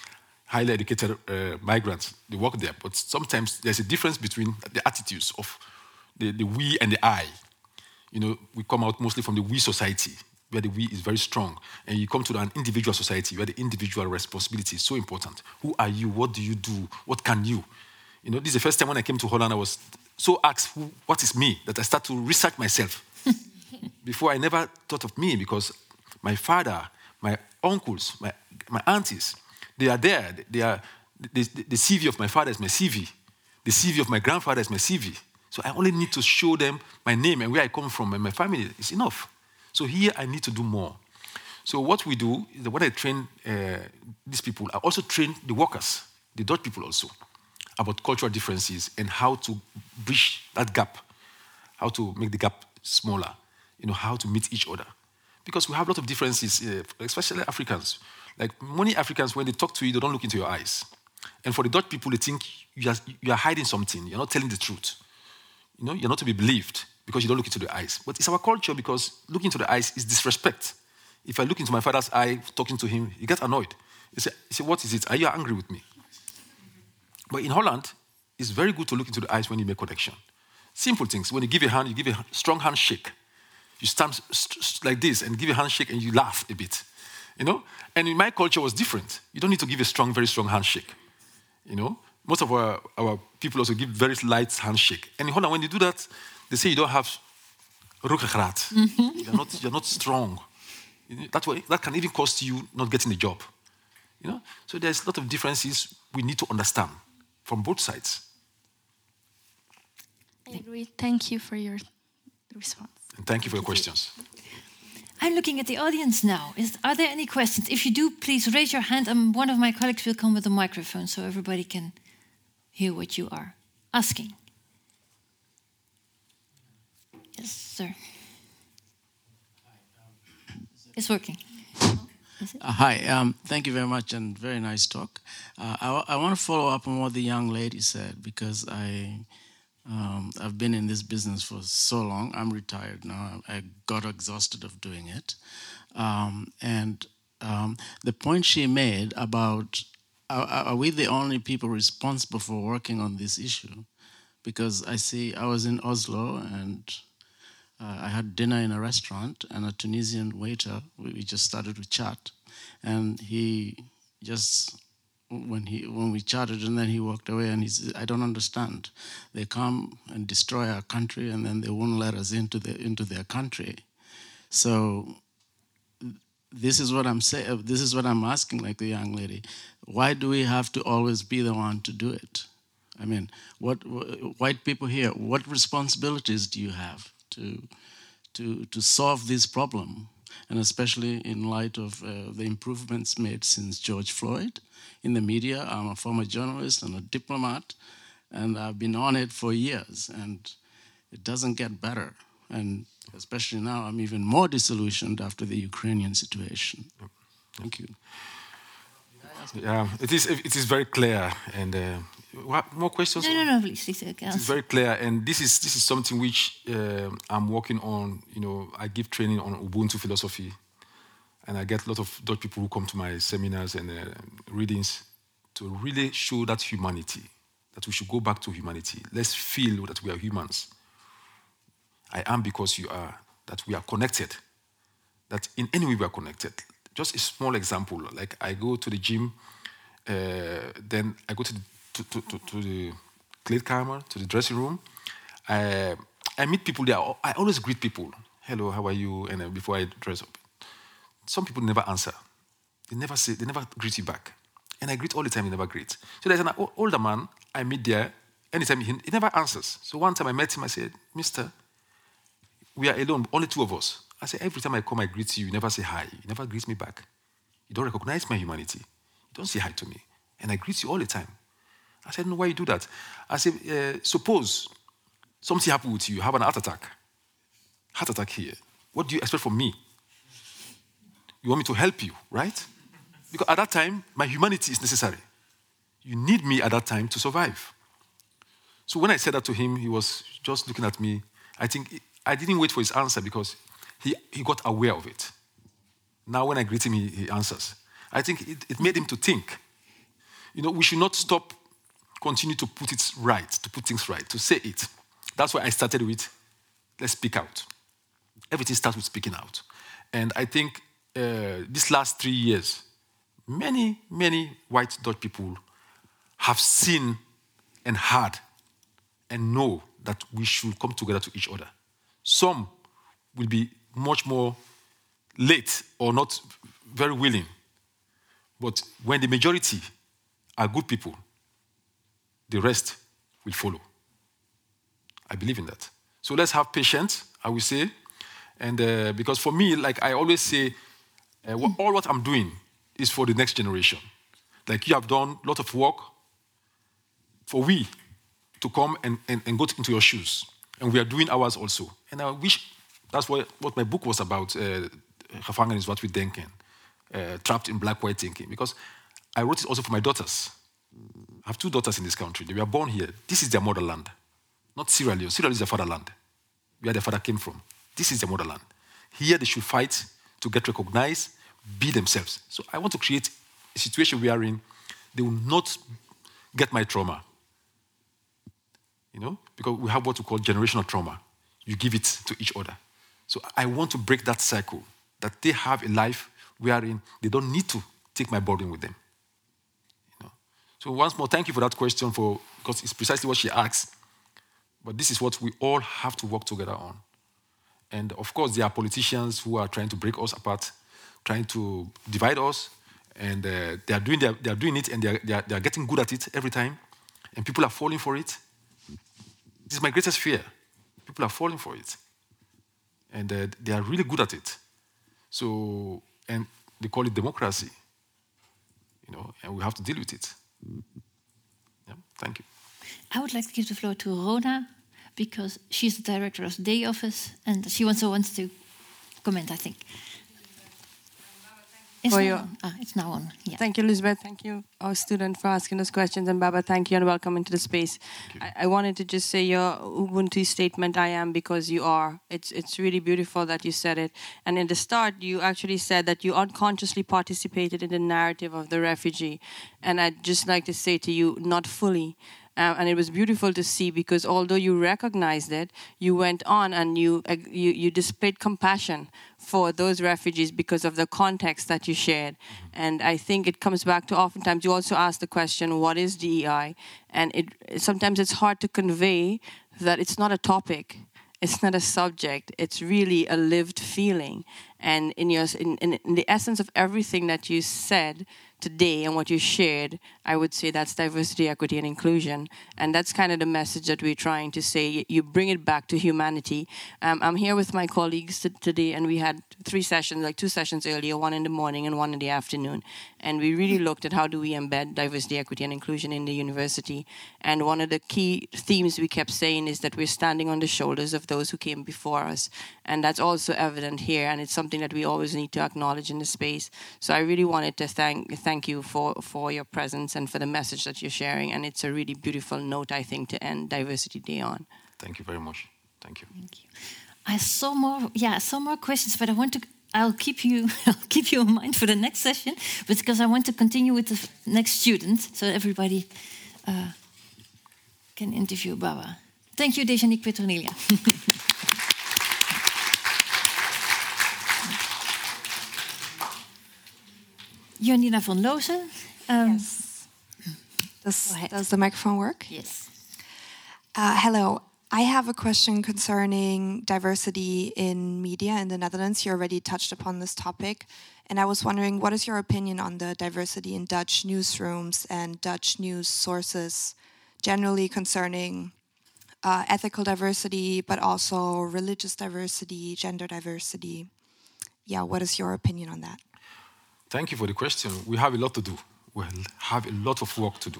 highly educated migrants. They work there, but sometimes there's a difference between the attitudes of the we and the I. We come out mostly from the we society, where the we is very strong. And you come to an individual society, where the individual responsibility is so important. Who are you? What do you do? What can you? This is the first time when I came to Holland, I was so asked, what is me? That I start to research myself. Before, I never thought of me, because my father, my uncles, my aunties, they are there. The CV of my father is my CV. The CV of my grandfather is my CV. So I only need to show them my name and where I come from and my family is enough. So here I need to do more. So what we do is that when I train these people, I also train the workers, the Dutch people also, about cultural differences and how to bridge that gap, how to make the gap smaller, how to meet each other. Because we have a lot of differences, especially Africans. Like many Africans, when they talk to you, they don't look into your eyes. And for the Dutch people, they think you are hiding something. You're not telling the truth. You're not to be believed because you don't look into the eyes. But it's our culture, because looking into the eyes is disrespect. If I look into my father's eye, talking to him, he gets annoyed. He say, what is it? Are you angry with me? But in Holland, it's very good to look into the eyes when you make connection. Simple things. When you give a hand, you give a strong handshake. You stand like this and give a handshake and you laugh a bit. And in my culture, it was different. You don't need to give a very strong handshake. Most of our people also give very light handshake. And in Holland, when you do that, they say you don't have ruggengraat. You're not strong. That can even cost you not getting a job. So there's a lot of differences we need to understand from both sides. I agree. Thank you for your response. And thank you for your questions. I'm looking at the audience now. Are there any questions? If you do, please raise your hand, and one of my colleagues will come with a microphone so everybody can hear what you are asking. Yes, sir. It's working. Hi, thank you very much, and very nice talk. I want to follow up on what the young lady said, because I've been in this business for so long. I'm retired now. I got exhausted of doing it. The point she made about, are we the only people responsible for working on this issue? Because I was in Oslo, and I had dinner in a restaurant, and a Tunisian waiter, we just started to chat, and he just, when we chatted, and then he walked away, and he said, I don't understand. They come and destroy our country, and then they won't let us into their country. So this is what I'm saying. This is what I'm asking, like the young lady. Why do we have to always be the one to do it? I mean, what white people here, what responsibilities do you have to solve this problem? And especially in light of the improvements made since George Floyd in the media. I'm a former journalist and a diplomat, and I've been on it for years, and it doesn't get better. And especially now, I'm even more disillusioned after the Ukrainian situation. Thank you. Yeah, it is very clear. And more questions? No, please. It is very clear, and this is something which I'm working on. I give training on Ubuntu philosophy, and I get a lot of Dutch people who come to my seminars and readings to really show that humanity, that we should go back to humanity. Let's feel that we are humans. I am because you are, that we are connected, that in any way we are connected. Just a small example, like I go to the gym, then I go to the kleedkamer, to the dressing room. I meet people there. I always greet people. Hello, how are you? And before I dress up. Some people never answer. They never greet you back. And I greet all the time, he never greets. So there's an older man I meet there. Anytime he never answers. So one time I met him, I said, Mister, we are alone, only two of us. I said, every time I come, I greet you. You never say hi. You never greet me back. You don't recognize my humanity. You don't say hi to me. And I greet you all the time. I said, no, why you do that? I said, suppose something happened with you. You have an heart attack here. What do you expect from me? You want me to help you, right? Because at that time, my humanity is necessary. You need me at that time to survive. So when I said that to him, he was just looking at me. I think I didn't wait for his answer because he got aware of it. Now when I greet him, he answers. I think it made him to think. we should not stop, continue to put it right, to put things right, to say it. That's why I started with, let's speak out. Everything starts with speaking out. And I think these last 3 years, many, many white Dutch people have seen and heard and know that we should come together to each other. Some will be much more late or not very willing. But when the majority are good people, the rest will follow. I believe in that. So let's have patience, I will say. And because for me, like I always say, all what I'm doing is for the next generation. Like you have done a lot of work for we to come and go into your shoes. And we are doing ours also. And I wish that's what my book was about, Gevangen is Wat We Denken, Trapped in Black-White Thinking. Because I wrote it also for my daughters. I have 2 daughters in this country. They were born here. This is their motherland. Not Sierra Leone. Sierra Leone is their fatherland, where their father came from. This is their motherland. Here they should fight to get recognized, be themselves. So I want to create a situation wherein they will not get my trauma. Because we have what we call generational trauma. You give it to each other. So I want to break that cycle, that they have a life wherein they don't need to take my burden with them. So once more, thank you for that question, because it's precisely what she asked. But this is what we all have to work together on. And of course, there are politicians who are trying to break us apart, trying to divide us, and they are doing it, and they are getting good at it every time, and people are falling for it. This is my greatest fear. People are falling for it, and they are really good at it. So, and they call it democracy, and we have to deal with it. Yeah, thank you. I would like to give the floor to Rona, because she's the director of the Day Office, and she also wants to comment, I think. It's now on. Yeah. Thank you, Elizabeth. Thank you, our student, for asking those questions. And Baba, thank you and welcome into the space. I wanted to just say your Ubuntu statement, I am because you are. It's really beautiful that you said it. And in the start, you actually said that you unconsciously participated in the narrative of the refugee. And I'd just like to say to you, not fully. And it was beautiful to see, because although you recognized it, you went on and you displayed compassion for those refugees because of the context that you shared. And I think it comes back to, oftentimes you also ask the question, what is DEI? And sometimes it's hard to convey that it's not a topic. It's not a subject. It's really a lived feeling. And in the essence of everything that you said today and what you shared, I would say that's diversity, equity, and inclusion. And that's kind of the message that we're trying to say. You bring it back to humanity. I'm here with my colleagues today, and we had 3 sessions, like 2 sessions earlier, 1 in the morning and 1 in the afternoon. And we really looked at how do we embed diversity, equity, and inclusion in the university. And one of the key themes we kept saying is that we're standing on the shoulders of those who came before us. And that's also evident here, and it's something that we always need to acknowledge in the space. So I really wanted to thank you for your presence and for the message that you're sharing. And it's a really beautiful note, I think, to end Diversity Day on. Thank you very much. Thank you. Thank you. I saw more questions, but I'll keep you in mind for the next session, because I want to continue with the next student, so everybody can interview Baba. Thank you, Dejanique Petronelia. Janina van Loozen. Yes. Does the microphone work? Yes. Hello. I have a question concerning diversity in media in the Netherlands. You already touched upon this topic. And I was wondering, what is your opinion on the diversity in Dutch newsrooms and Dutch news sources, generally concerning ethical diversity, but also religious diversity, gender diversity? Yeah, what is your opinion on that? Thank you for the question. We have a lot to do. We have a lot of work to do.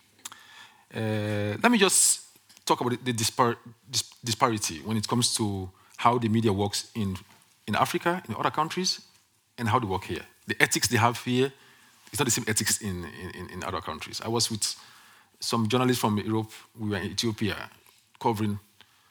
Let me just talk about the disparity when it comes to how the media works in Africa, in other countries, and how they work here. The ethics they have here is not the same ethics in other countries. I was with some journalists from Europe. We were in Ethiopia covering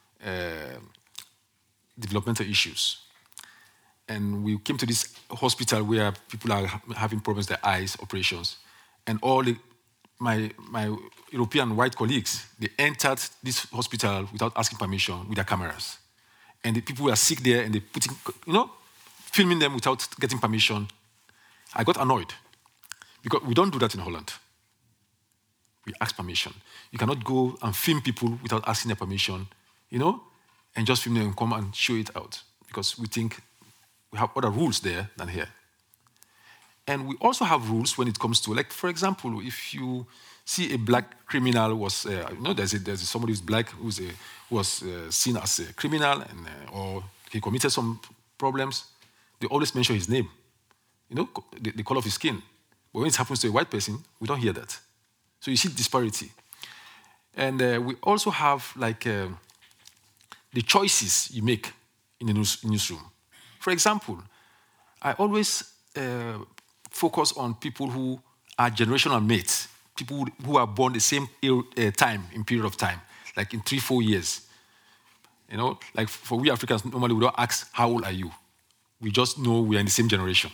developmental issues. And we came to this hospital where people are having problems with their eyes, operations. And all the my European white colleagues, they entered this hospital without asking permission with their cameras. And the people were sick there and they putting, filming them without getting permission. I got annoyed because we don't do that in Holland. We ask permission. You cannot go and film people without asking their permission, and just film them and come and show it out because we think we have other rules there than here. And we also have rules when it comes to, like, for example, if you see a black criminal there's somebody who's black who was seen as a criminal or he committed some problems, they always mention his name, the color of his skin. But when it happens to a white person, we don't hear that. So you see disparity. And we also have, like, the choices you make in the newsroom. For example, I always focus on people who are generational mates, people who are born the same period of time, like in 3-4 years. Like for we Africans, normally we don't ask, how old are you? We just know we are in the same generation.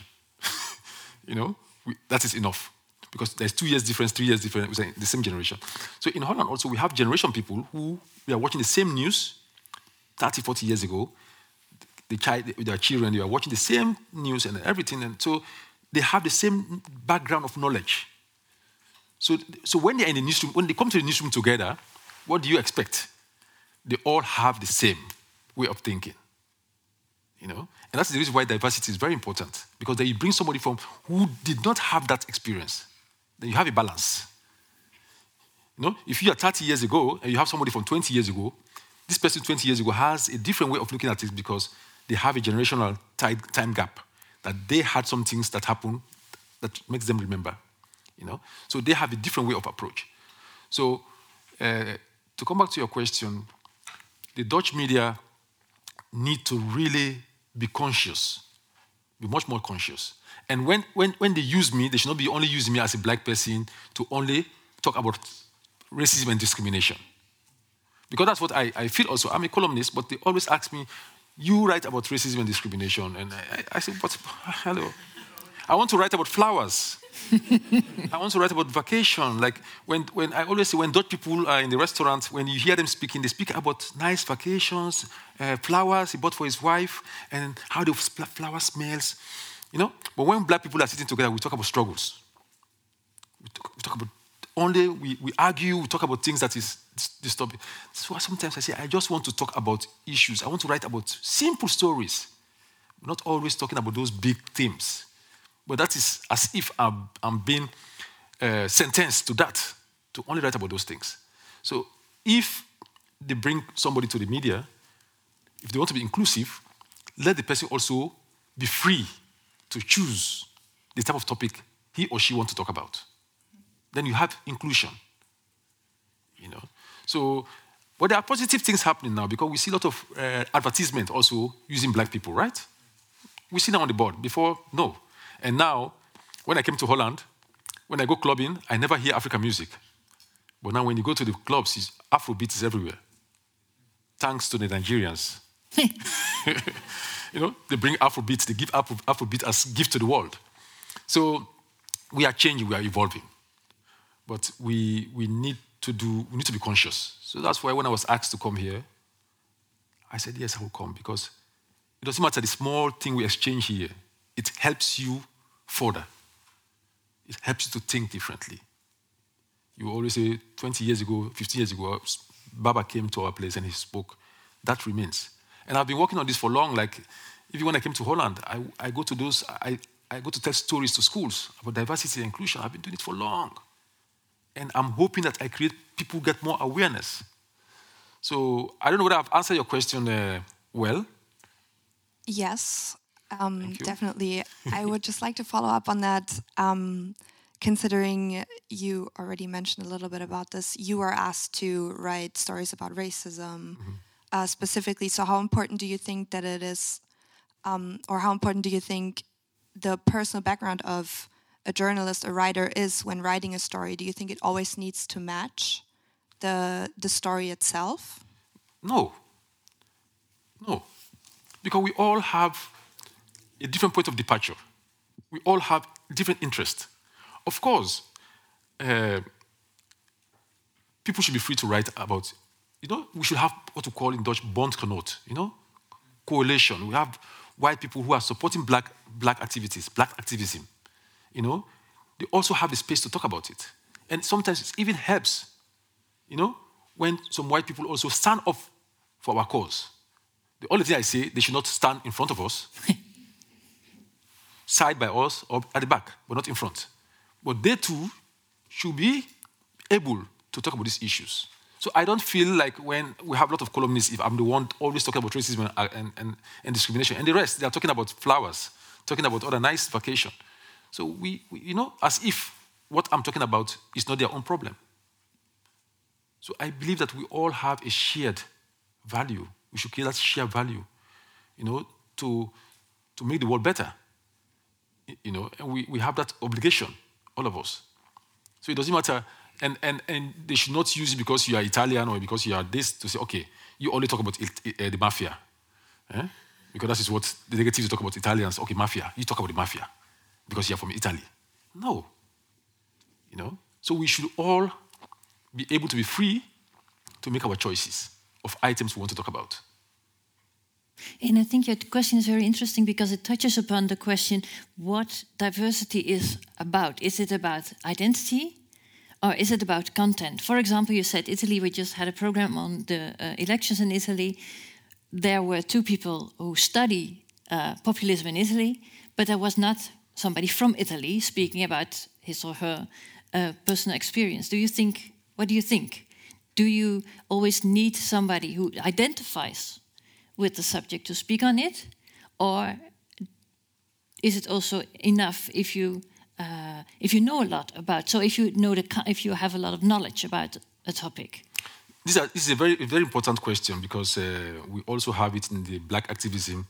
That is enough. Because there's 2 years difference, 3 years difference, we're in the same generation. So in Holland also, we have generation people who we are watching the same news 30, 40 years ago. Their children, they are watching the same news and everything. And so they have the same background of knowledge. So when they're in the newsroom, when they come to the newsroom together, what do you expect? They all have the same way of thinking. And that's the reason why diversity is very important. Because then you bring somebody from who did not have that experience. Then you have a balance. If you are 30 years ago and you have somebody from 20 years ago, this person 20 years ago has a different way of looking at it because they have a generational time gap, that they had some things that happened that makes them remember. So they have a different way of approach. So to come back to your question, the Dutch media need to really be conscious, be much more conscious. And when they use me, they should not be only using me as a black person to only talk about racism and discrimination. Because that's what I feel also. I'm a columnist, but they always ask me, you write about racism and discrimination. And I say, but hello. I want to write about flowers. I want to write about vacation. Like when I always say, when Dutch people are in the restaurant, when you hear them speaking, they speak about nice vacations, flowers he bought for his wife, and how the flower smells. But when black people are sitting together, we talk about struggles. We talk about we argue, we talk about things that is disturbing. So sometimes I say, I just want to talk about issues. I want to write about simple stories. Not always talking about those big themes. But that is as if I'm being sentenced to that, to only write about those things. So if they bring somebody to the media, if they want to be inclusive, let the person also be free to choose the type of topic he or she wants to talk about. Then you have inclusion. So, but there are positive things happening now because we see a lot of advertisement also using black people, right? We see them on the board. Before, no. And now, when I came to Holland, when I go clubbing, I never hear African music. But now when you go to the clubs, Afrobeat is everywhere. Thanks to the Nigerians. They bring Afrobeat, they give Afrobeat as gift to the world. So we are changing, we are evolving. But we need to be conscious. So that's why when I was asked to come here, I said, yes, I will come, because it doesn't matter the small thing we exchange here. It helps you further. It helps you to think differently. You always say, 20 years ago, 15 years ago, Baba came to our place and he spoke. That remains. And I've been working on this for long. Like, even when I came to Holland, I go to tell stories to schools about diversity and inclusion. I've been doing it for long. And I'm hoping that people get more awareness. So I don't know whether I've answered your question well. Yes, definitely. I would just like to follow up on that. Considering you already mentioned a little bit about this, you were asked to write stories about racism specifically. So how important do you think that it is, or how important do you think the personal background of a journalist, a writer is when writing a story? Do you think it always needs to match the story itself? No. Because we all have a different point of departure. We all have different interests. Of course, people should be free to write about, we should have what we call in Dutch bondgenoot, coalition. We have white people who are supporting black activities, black activism. They also have the space to talk about it. And sometimes it even helps, when some white people also stand up for our cause. The only thing I say, they should not stand in front of us, side by us, or at the back, but not in front. But they too should be able to talk about these issues. So I don't feel like when we have a lot of columnists, if I'm the one always talking about racism and discrimination, and the rest, they are talking about flowers, talking about other nice vacation. So we as if what I'm talking about is not their own problem. So I believe that we all have a shared value. We should create that shared value, to make the world better. And we have that obligation, all of us. So it doesn't matter, and they should not use it because you are Italian or because you are this to say, okay, you only talk about the mafia. Because that is what the negatives talk about Italians. Okay, mafia. You talk about the mafia because you are from Italy. No. So we should all be able to be free to make our choices of items we want to talk about. And I think your question is very interesting because it touches upon the question what diversity is about. Is it about identity or is it about content? For example, you said Italy, we just had a program on the elections in Italy. There were two people who study populism in Italy, but there was not somebody from Italy speaking about his or her personal experience. What do you think? Do you always need somebody who identifies with the subject to speak on it, or is it also enough if you know a lot about? So if you have a lot of knowledge about a topic. This is a very, very important question because we also have it in the black activism.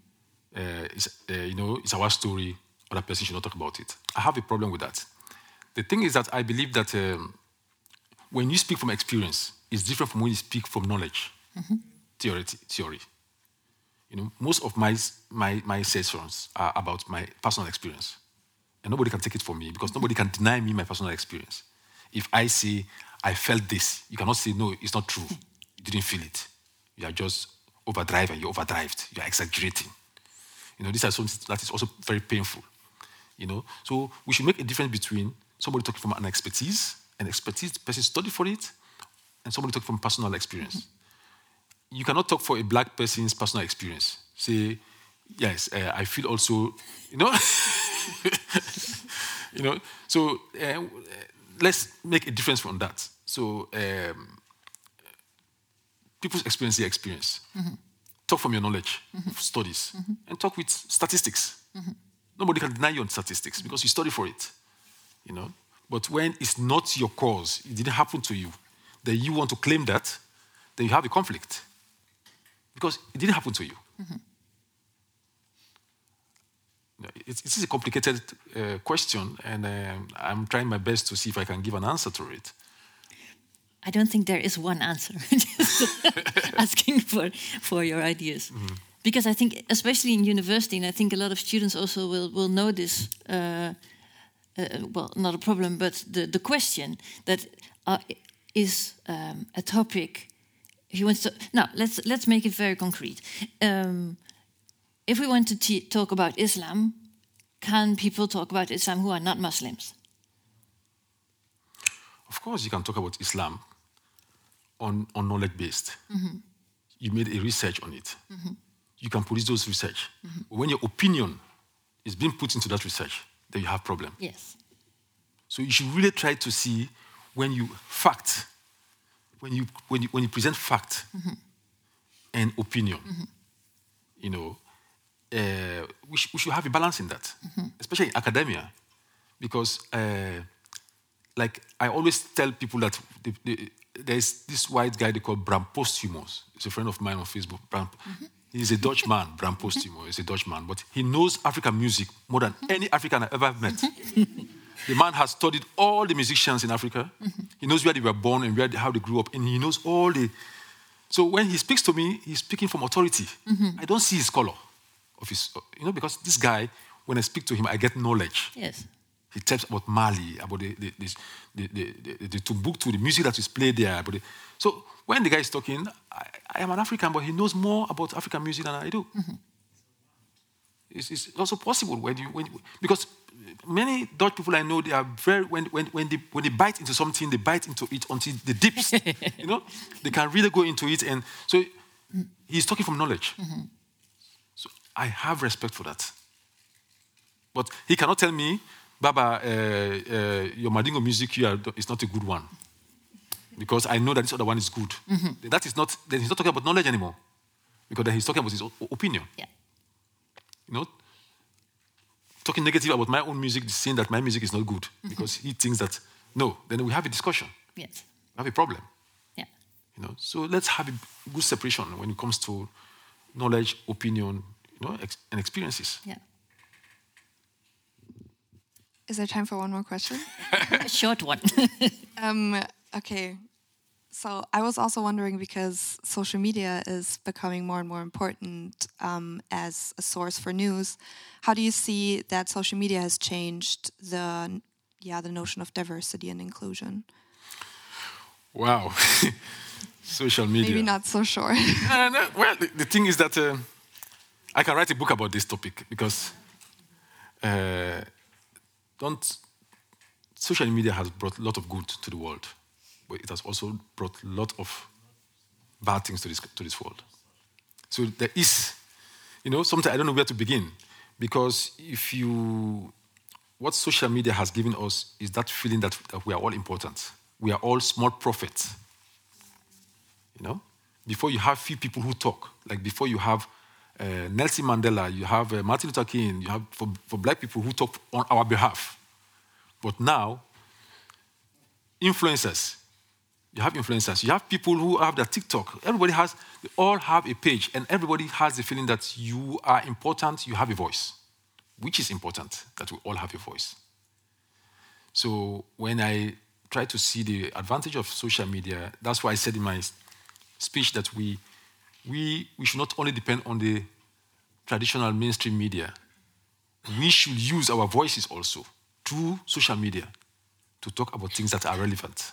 It's our story. Other person should not talk about it. I have a problem with that. The thing is that I believe that when you speak from experience, it's different from when you speak from knowledge, theory. Most of my sessions are about my personal experience. And nobody can take it from me because nobody can deny me my personal experience. If I say, I felt this, you cannot say, no, it's not true. You didn't feel it. You are just overdriving, you're overdrived, you're exaggerating. This is something that is also very painful. So we should make a difference between somebody talking from an expertise, the person studied for it, and somebody talking from personal experience. You cannot talk for a black person's personal experience. Say, yes, I feel also, So let's make a difference from that. So people's experience, their experience. Talk from your knowledge of studies and talk with statistics. Nobody can deny you on statistics because you study for it. But when it's not your cause, it didn't happen to you, then you want to claim that, then you have a conflict. Because it didn't happen to you. It's a complicated question, and I'm trying my best to see if I can give an answer to it. I don't think there is one answer. Just asking for your ideas. Because I think, especially in university, and I think a lot of students also will know this, not a problem, but the question that is a topic. If you want to, now let's make it very concrete. If we want to talk about Islam, can people talk about Islam who are not Muslims? Of course, you can talk about Islam on knowledge based. You made a research on it. You can produce those research. But when your opinion is being put into that research, then you have problem. Yes. So you should really try to see when you present fact and opinion, we should have a balance in that, especially in academia, because like I always tell people that there's this white guy they call Bram Posthumus. He's a friend of mine on Facebook. He's a Dutch man, Bram Posthumus. He's a Dutch man, but he knows African music more than any African I ever met. The man has studied all the musicians in Africa. He knows where they were born and how they grew up, and he knows all the. So when he speaks to me, he's speaking from authority. I don't see his color of his, because this guy, when I speak to him, I get knowledge. Yes. He tells about Mali, about the Timbuktu, the music that is played there. So when the guy is talking, I am an African, but he knows more about African music than I do. It's also possible because many Dutch people I know, they are very when they bite into something, they bite into it until the dips. They can really go into it, and so he's talking from knowledge. So I have respect for that. But he cannot tell me, Baba, your Mandingo music is not a good one, because I know that this other one is good. That is not. Then he's not talking about knowledge anymore, because then he's talking about his opinion. Yeah. Talking negative about my own music, saying that my music is not good, because he thinks that, no, then we have a discussion. Yes. We have a problem. Yeah. So let's have a good separation when it comes to knowledge, opinion, and experiences. Yeah. Is there time for one more question? A short one. Okay. So I was also wondering, because social media is becoming more and more important as a source for news, how do you see that social media has changed the notion of diversity and inclusion? Wow. Social media. Maybe not so sure. No. Well, the thing is that I can write a book about this topic, because social media has brought a lot of good to the world, but it has also brought a lot of bad things to this world. So there is, sometimes I don't know where to begin, because what social media has given us is that feeling that we are all important. We are all small prophets. Before you have few people who talk, like before you have Nelson Mandela, you have Martin Luther King, you have for black people who talk on our behalf. But now, influencers. You have people who have their TikTok. They all have a page, and everybody has the feeling that you are important, you have a voice, which is important, that we all have a voice. So when I try to see the advantage of social media, that's why I said in my speech that we should not only depend on the traditional mainstream media. We should use our voices also through social media to talk about things that are relevant.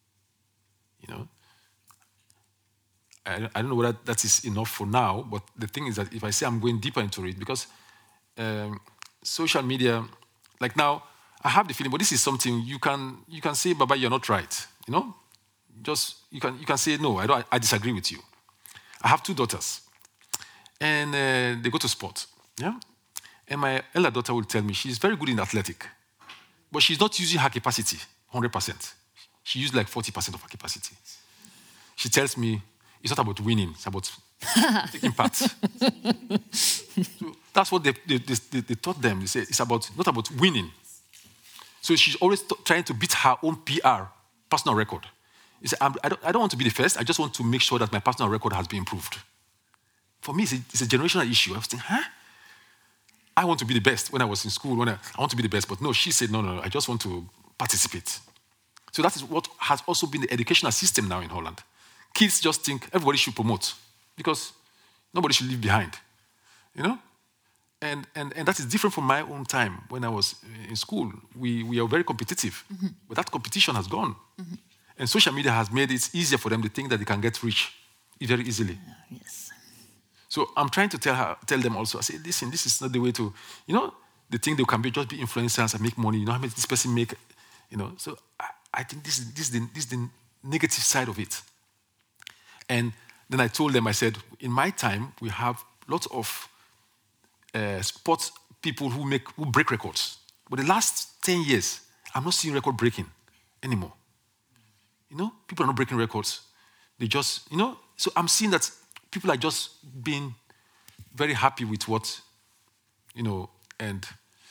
I don't know whether that is enough for now, but the thing is that if I say I'm going deeper into it, because social media, like now, I have the feeling, but this is something you can say, Baba, you're not right. Just you can say no. I disagree with you. I have 2 daughters, and they go to sport. Yeah, and my elder daughter will tell me she's very good in athletic, but she's not using her capacity 100%. She used like 40% of her capacity. She tells me it's not about winning; it's about taking part. So that's what they taught them. They say it's not about winning. So she's always trying to beat her own personal record. He said, I don't want to be the first. I just want to make sure that my personal record has been improved. For me, it's a generational issue. I was thinking, I want to be the best when I was in school. I want to be the best. But no, she said, no, I just want to participate. So that is what has also been the educational system now in Holland. Kids just think everybody should promote because nobody should leave behind. And that is different from my own time when I was in school. We are very competitive, but that competition has gone. And social media has made it easier for them to think that they can get rich very easily. Yes. So I'm trying to tell them also, I say, listen, this is not the way to, they think they can just be influencers and make money. How much this person make, So I think this is the negative side of it. And then I told them, I said, in my time, we have lots of sports people who break records. But the last 10 years, I'm not seeing record breaking anymore. People are not breaking records. They just, so I'm seeing that people are just being very happy with what, and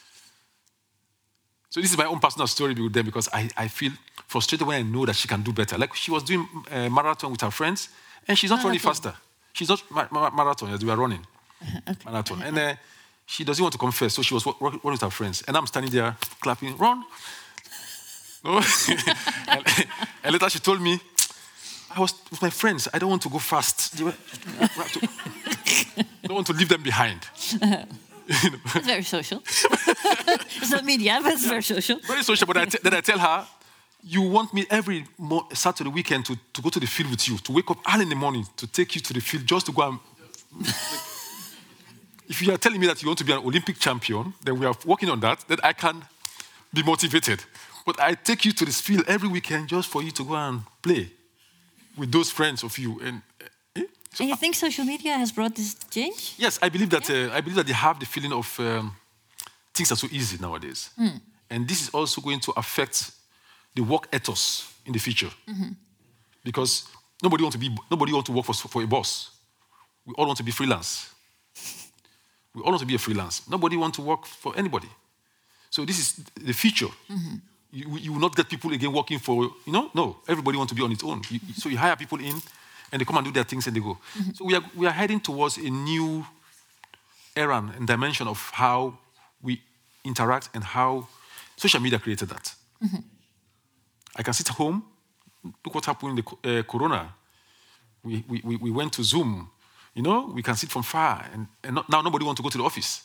so this is my own personal story with them because I feel frustrated when I know that she can do better. Like she was doing a marathon with her friends, and she's not running faster. She's not marathon as we are running marathon. And she doesn't want to come first, so she was running with her friends. And I'm standing there clapping, run. No? and later she told me, I was with my friends. I don't want to go fast. I don't want to leave them behind. It's very social. It's not media, but it's very social. Very social, but then I tell her, you want me every Saturday weekend to go to the field with you, to wake up early in the morning, to take you to the field just to go and... If you are telling me that you want to be an Olympic champion, then we are working on that, then I can be motivated. But I take you to this field every weekend just for you to go and play with those friends of you. And you think social media has brought this change? Yes, I believe that they have the feeling of things are so easy nowadays. And this is also going to affect the work ethos in the future. Because nobody wants to work for a boss. We all want to be freelance. We all want to be a freelance. Nobody wants to work for anybody. So this is the future. You will not get people again working for, no. Everybody wants to be on its own. So you hire people in, and they come and do their things and they go. So we are heading towards a new era and dimension of how we interact and how social media created that. I can sit at home. Look what happened in the Corona. We went to Zoom. We can sit from far, and now nobody wants to go to the office.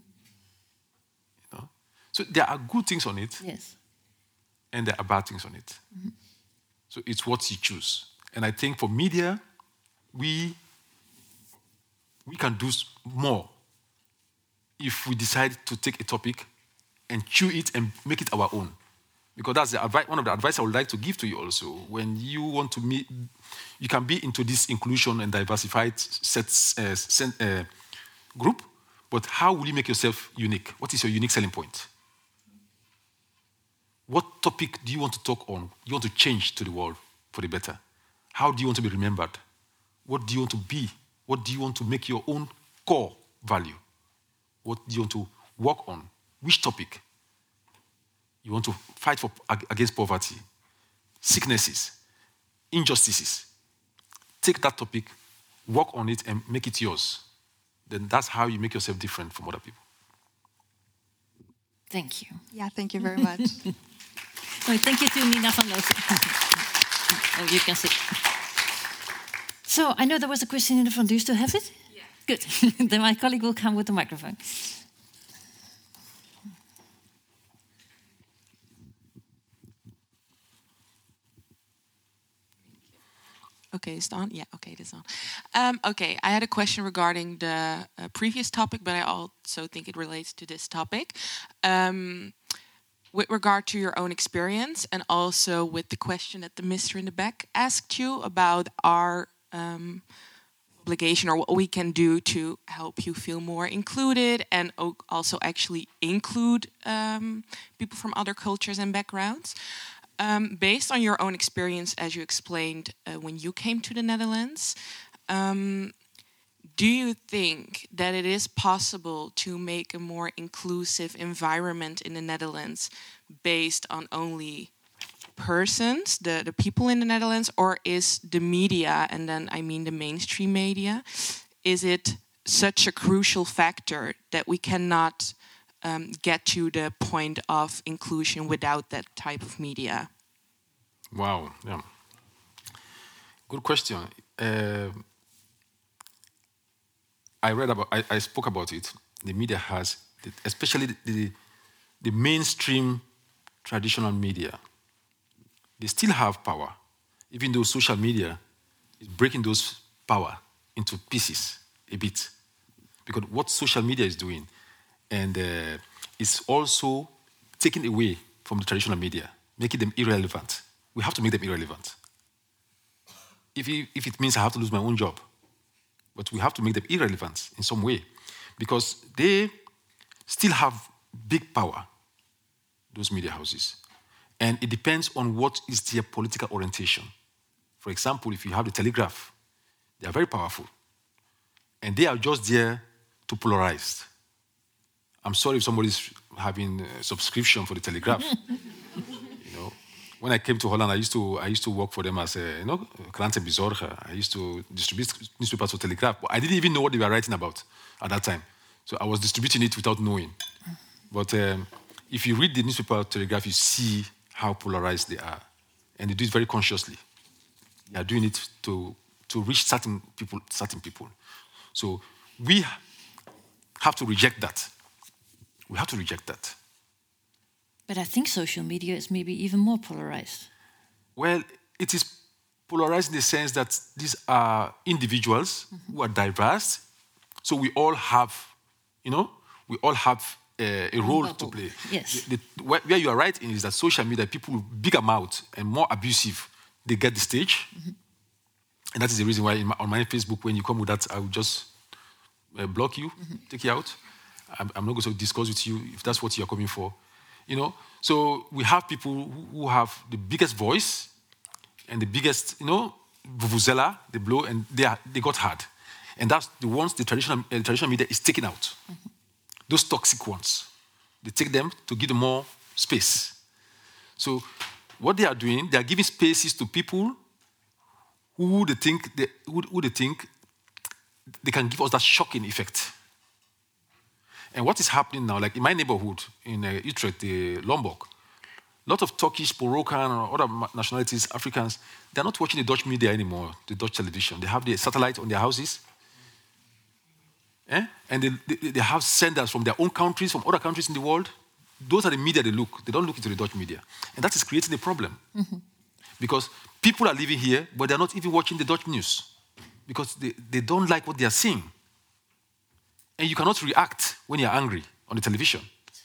So there are good things on it, yes, and there are bad things on it. So it's what you choose. And I think for media, we can do more if we decide to take a topic and chew it and make it our own. Because that's one of the advice I would like to give to you also. When you want to meet, you can be into this inclusion and diversified group, but how will you make yourself unique? What is your unique selling point? What topic do you want to talk on? You want to change to the world for the better? How do you want to be remembered? What do you want to be? What do you want to make your own core value? What do you want to work on? Which topic? You want to fight against poverty, sicknesses, injustices. Take that topic, work on it, and make it yours. Then that's how you make yourself different from other people. Thank you. Yeah, thank you very much. Thank you to Nina van Looten. Oh, you can sit. So I know there was a question in the front. Do you still have it? Yeah. Good. Then my colleague will come with the microphone. Okay, it's on? Yeah, okay, it is on. Okay, I had a question regarding the previous topic, but I also think it relates to this topic. With regard to your own experience, and also with the question that the Mr. in the back asked you about our obligation or what we can do to help you feel more included and also actually include people from other cultures and backgrounds. Based on your own experience, as you explained when you came to the Netherlands, do you think that it is possible to make a more inclusive environment in the Netherlands based on only persons, the people in the Netherlands, or is the media, and then I mean the mainstream media, is it such a crucial factor that we cannot get to the point of inclusion without that type of media? Wow, yeah. Good question. I spoke about it. The media has, especially the mainstream traditional media, they still have power, even though social media is breaking those power into pieces a bit. Because what social media is doing, and it's also taking away from the traditional media, making them irrelevant. We have to make them irrelevant. If it means I have to lose my own job, but we have to make them irrelevant in some way, because they still have big power, those media houses. And it depends on what is their political orientation. For example, if you have the Telegraph, they are very powerful. And they are just there to polarize. I'm sorry if somebody's having a subscription for the Telegraph. When I came to Holland, I used to work for them as a krantenbezorger. I used to distribute newspapers for Telegraph. But I didn't even know what they were writing about at that time. So I was distributing it without knowing. But if you read the newspaper Telegraph, you see how polarized they are. And they do it very consciously. They are doing it to reach certain people. So we have to reject that We have to reject that. But I think social media is maybe even more polarized. Well, it is polarized in the sense that these are individuals who are diverse. So we all have, we all have a role to play. Yes. Where you are right in is that social media, people with bigger mouth and more abusive, they get the stage. And that is the reason why on my Facebook, when you come with that, I will just block you, take you out. I'm not going to discuss with you if that's what you're coming for. So we have people who have the biggest voice and the biggest, vuvuzela, they blow, and they got hard. And that's the ones the traditional media is taking out. Those toxic ones. They take them to give them more space. So what they are doing, they are giving spaces to people who they think they can give us that shocking effect. And what is happening now, like in my neighborhood in Utrecht, Lombok, a lot of Turkish, Moroccan, or other nationalities, Africans, they're not watching the Dutch media anymore, the Dutch television. They have the satellite on their houses. And they have senders from their own countries, from other countries in the world. Those are the media they look. They don't look into the Dutch media. And that is creating a problem. Because people are living here, but they're not even watching the Dutch news. Because they don't like what they are seeing. And you cannot react when you're angry on the television.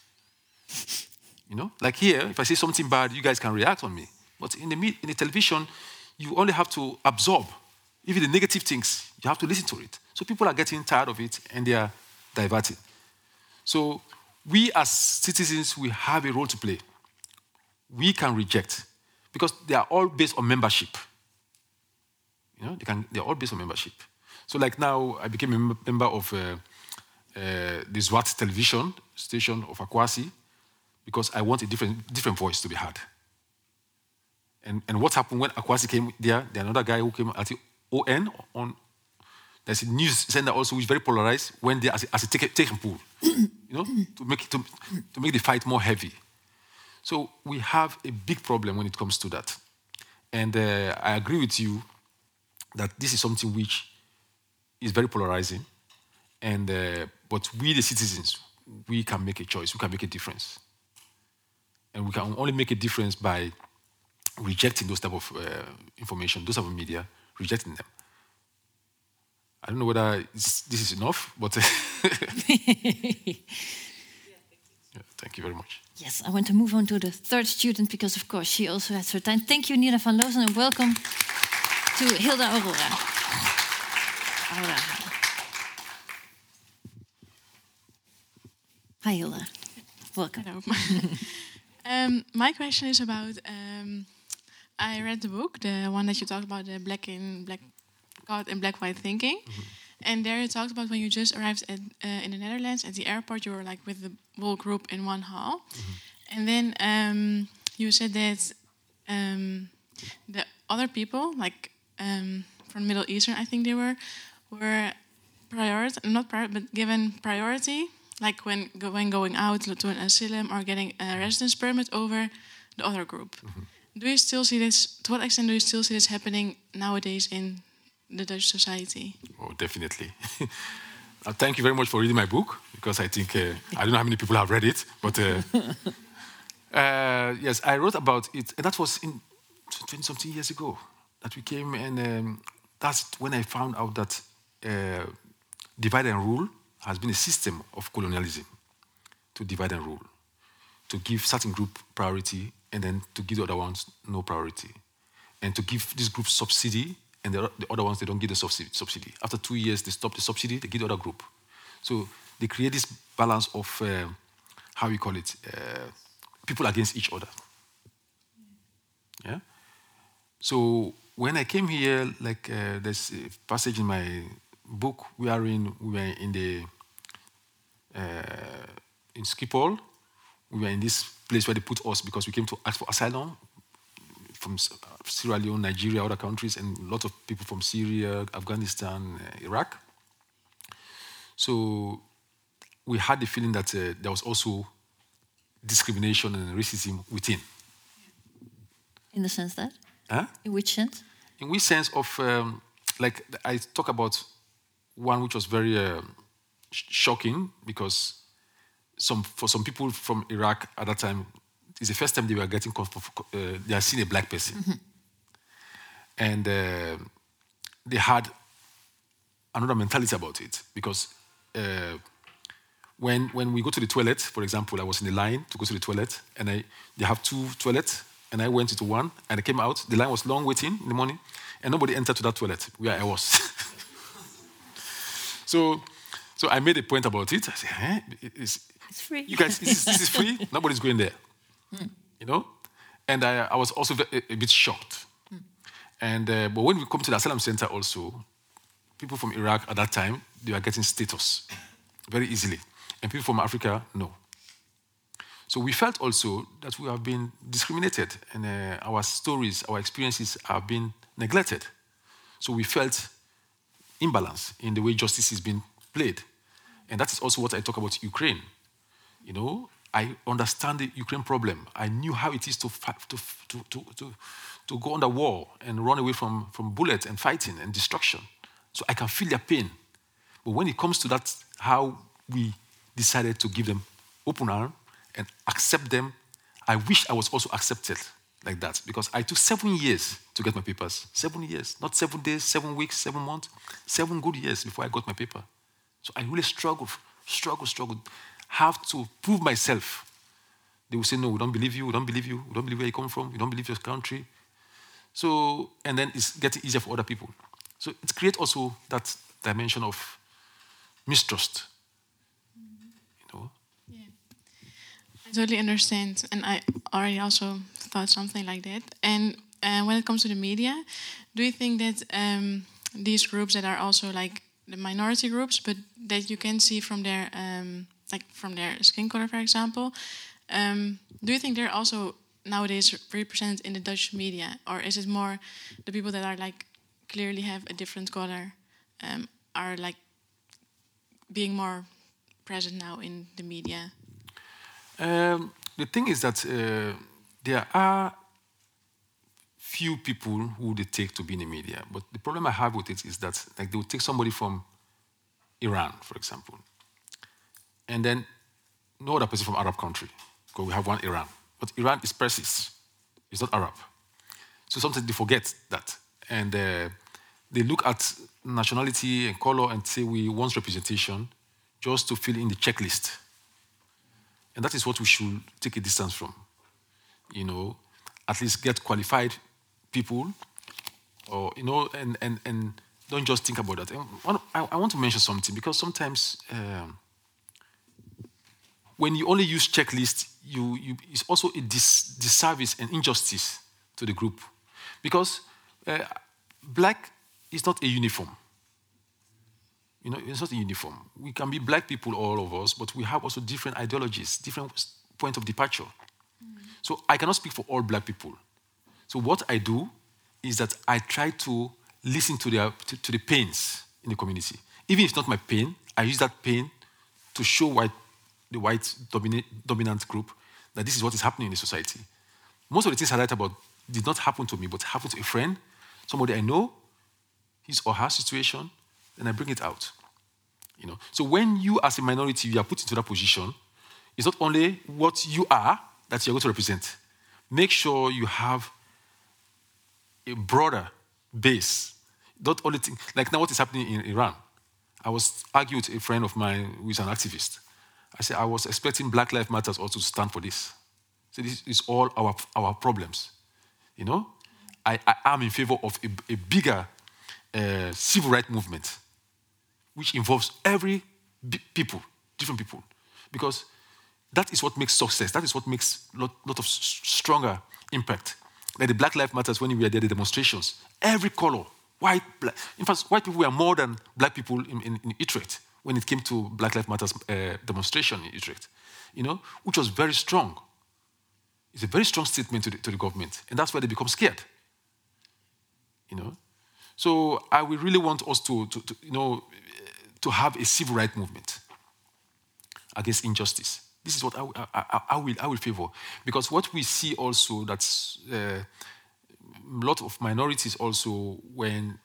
Like here, if I say something bad, you guys can react on me. But in the television, you only have to absorb. Even the negative things, you have to listen to it. So people are getting tired of it, and they are diverted. So we as citizens, we have a role to play. We can reject, because they are all based on membership. They're all based on membership. So like now, I became a member of the Zwart television station of Akwasi, because I want a different voice to be heard. And what happened when Akwasi came there, another guy who came at the ON, there's a news sender also which is very polarized, went there as a taken pool, to make the fight more heavy. So we have a big problem when it comes to that. And I agree with you that this is something which is very polarizing. And but we, the citizens, we can make a choice. We can make a difference. And we can only make a difference by rejecting those type of information, those type of media, rejecting them. I don't know whether this is enough, but thank you very much. Yes, I want to move on to the third student because, of course, she also has her time. Thank you, Nina van Loozen, and welcome to Hilda Aurora. Hi, Hilda. Welcome. Hello. My question is about, I read the book, the one that you talked about, the God and Black White Thinking. And there you talked about when you just arrived in the Netherlands at the airport, you were like with the whole group in one hall. And then you said that the other people, like from Middle Eastern, I think they were given priority, like when going out to an asylum or getting a residence permit over the other group. Do you still see this? To what extent do you still see this happening nowadays in the Dutch society? Oh, definitely. Thank you very much for reading my book, because I think, I don't know how many people have read it, but yes, I wrote about it, and that was in 20-something years ago that we came, and that's when I found out that divide and rule has been a system of colonialism, to divide and rule, to give certain group priority, and then to give the other ones no priority, and to give this group subsidy, and the other ones, they don't give the subsidy. After 2 years, they stop the subsidy, they give the other group. So they create this balance of, how we call it, people against each other. Yeah? So when I came here, like there's a passage in my book, we were in Schiphol. We were in this place where they put us because we came to ask for asylum from Sierra Leone, Nigeria, other countries, and a lot of people from Syria, Afghanistan, Iraq. So we had the feeling that there was also discrimination and racism within. In the sense that? Huh? In which sense? In which sense of, like, I talk about one which was very shocking, because for some people from Iraq at that time, it's the first time they were getting they are seeing a black person, and they had another mentality about it because when we go to the toilet, for example, I was in the line to go to the toilet, and they have 2 toilets, and I went into one, and I came out. The line was long waiting in the morning, and nobody entered to that toilet where I was. So I made a point about it. I said, it's free. You guys, this is free. Nobody's going there. You know? And I was also a bit shocked. And but when we come to the asylum center also, people from Iraq at that time, they were getting status very easily. And people from Africa, no. So we felt also that we have been discriminated and our stories, our experiences have been neglected. So we felt imbalance in the way justice is being played. And that is also what I talk about Ukraine. You know, I understand the Ukraine problem. I knew how it is to go on the war and run away from bullets and fighting and destruction. So I can feel their pain. But when it comes to that, how we decided to give them open arm and accept them, I wish I was also accepted like that, because I took 7 years to get my papers. 7 years, not 7 days, 7 weeks, 7 months, 7 good years before I got my paper. So I really struggled, have to prove myself. They will say, no, we don't believe you, we don't believe where you come from, we don't believe your country. So, and then it's getting easier for other people. So it creates also that dimension of mistrust. You know? Yeah. I totally understand, and I already also thought something like that. And when it comes to the media, do you think that these groups that are also like the minority groups, but that you can see from their from their skin color, for example, do you think they're also nowadays represented in the Dutch media, or is it more the people that are like clearly have a different color are like being more present now in the media? The thing is that there are few people who they take to be in the media, but the problem I have with it is that like they will take somebody from Iran, for example, and then no other person from Arab country, because we have one Iran. But Iran is Persian, it's not Arab. So sometimes they forget that. And they look at nationality and color and say we want representation just to fill in the checklist. And that is what we should take a distance from. You know, at least get qualified people, or, you know, and don't just think about that. And I want to mention something, because sometimes when you only use checklists, it's also a disservice and injustice to the group. Because black is not a uniform. You know, it's not a uniform. We can be black people, all of us, but we have also different ideologies, different point of departure. So I cannot speak for all black people. So what I do is that I try to listen to the pains in the community. Even if it's not my pain, I use that pain to show the white dominant group that this is what is happening in the society. Most of the things I write about did not happen to me, but happened to a friend, somebody I know, his or her situation, and I bring it out. You know. So when you as a minority, you are put into that position, it's not only what you are that you're going to represent. Make sure you have a broader base. Not only like now what is happening in Iran. I was arguing with a friend of mine who is an activist. I said, I was expecting Black Lives Matter also to stand for this. So this is all our problems. You know? I am in favor of a bigger civil rights movement, which involves people, different people. Because that is what makes success. That is what makes a lot of stronger impact. Like the Black Lives Matter, when we were there, the demonstrations, every color, white, black. In fact, white people were more than black people in Utrecht when it came to Black Lives Matter demonstration in Utrecht, you know, which was very strong. It's a very strong statement to the government, and that's why they become scared, you know. So I would really want us to to have a civil rights movement against injustice. This is what I will favor, because what we see also that's a lot of minorities also when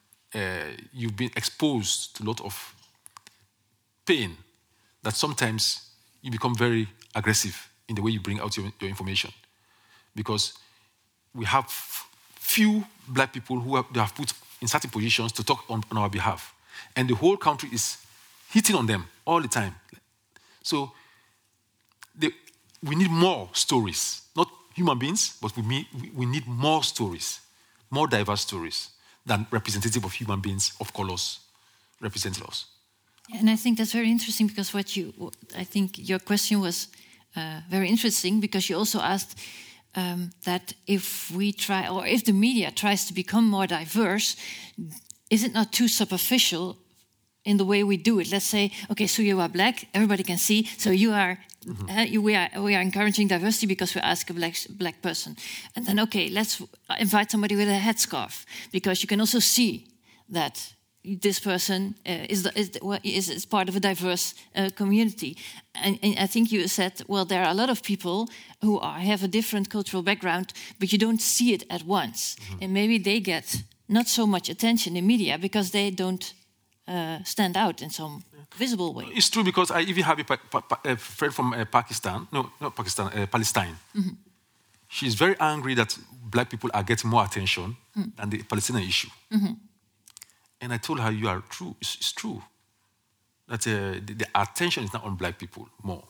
you've been exposed to a lot of pain, that sometimes you become very aggressive in the way you bring out your information. Because we have few black people who they have put in certain positions to talk on our behalf. And the whole country is hitting on them all the time. So we need more stories. Not human beings, but we need more stories, more diverse stories than representative of human beings of colors representing us. And I think that's very interesting because I think your question was very interesting because you also asked that if we try, or if the media tries to become more diverse, is it not too superficial in the way we do it? Let's say, okay, so you are black, everybody can see, so you are. We are encouraging diversity because we ask a black person, and then okay, let's invite somebody with a headscarf because you can also see that this person is part of a diverse community. And I think you said, well, there are a lot of people who have a different cultural background, but you don't see it at once, and maybe they get not so much attention in media because they don't stand out in some visible way. It's true because I even have a friend from Pakistan. No, not Pakistan, Palestine. Mm-hmm. She's very angry that black people are getting more attention than the Palestinian issue. Mm-hmm. And I told her, you are true. It's true that the attention is not on black people more,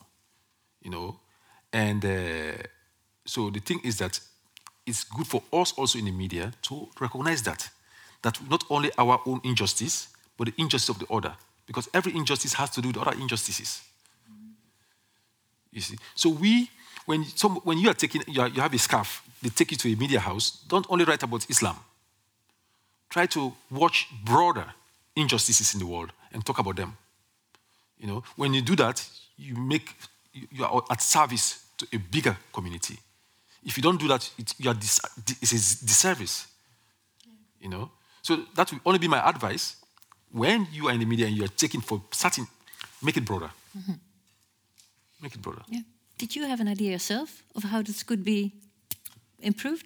And so the thing is that it's good for us also in the media to recognize that not only our own injustice, but the injustice of the other. Because every injustice has to do with other injustices. You see? So when you are you have a scarf, they take you to a media house, don't only write about Islam. Try to watch broader injustices in the world and talk about them. When you do that, you are at service to a bigger community. If you don't do that, it's a disservice. So that will only be my advice. When you are in the media and you are taking for certain, make it broader. Mm-hmm. Make it broader. Yeah. Did you have an idea yourself of how this could be improved?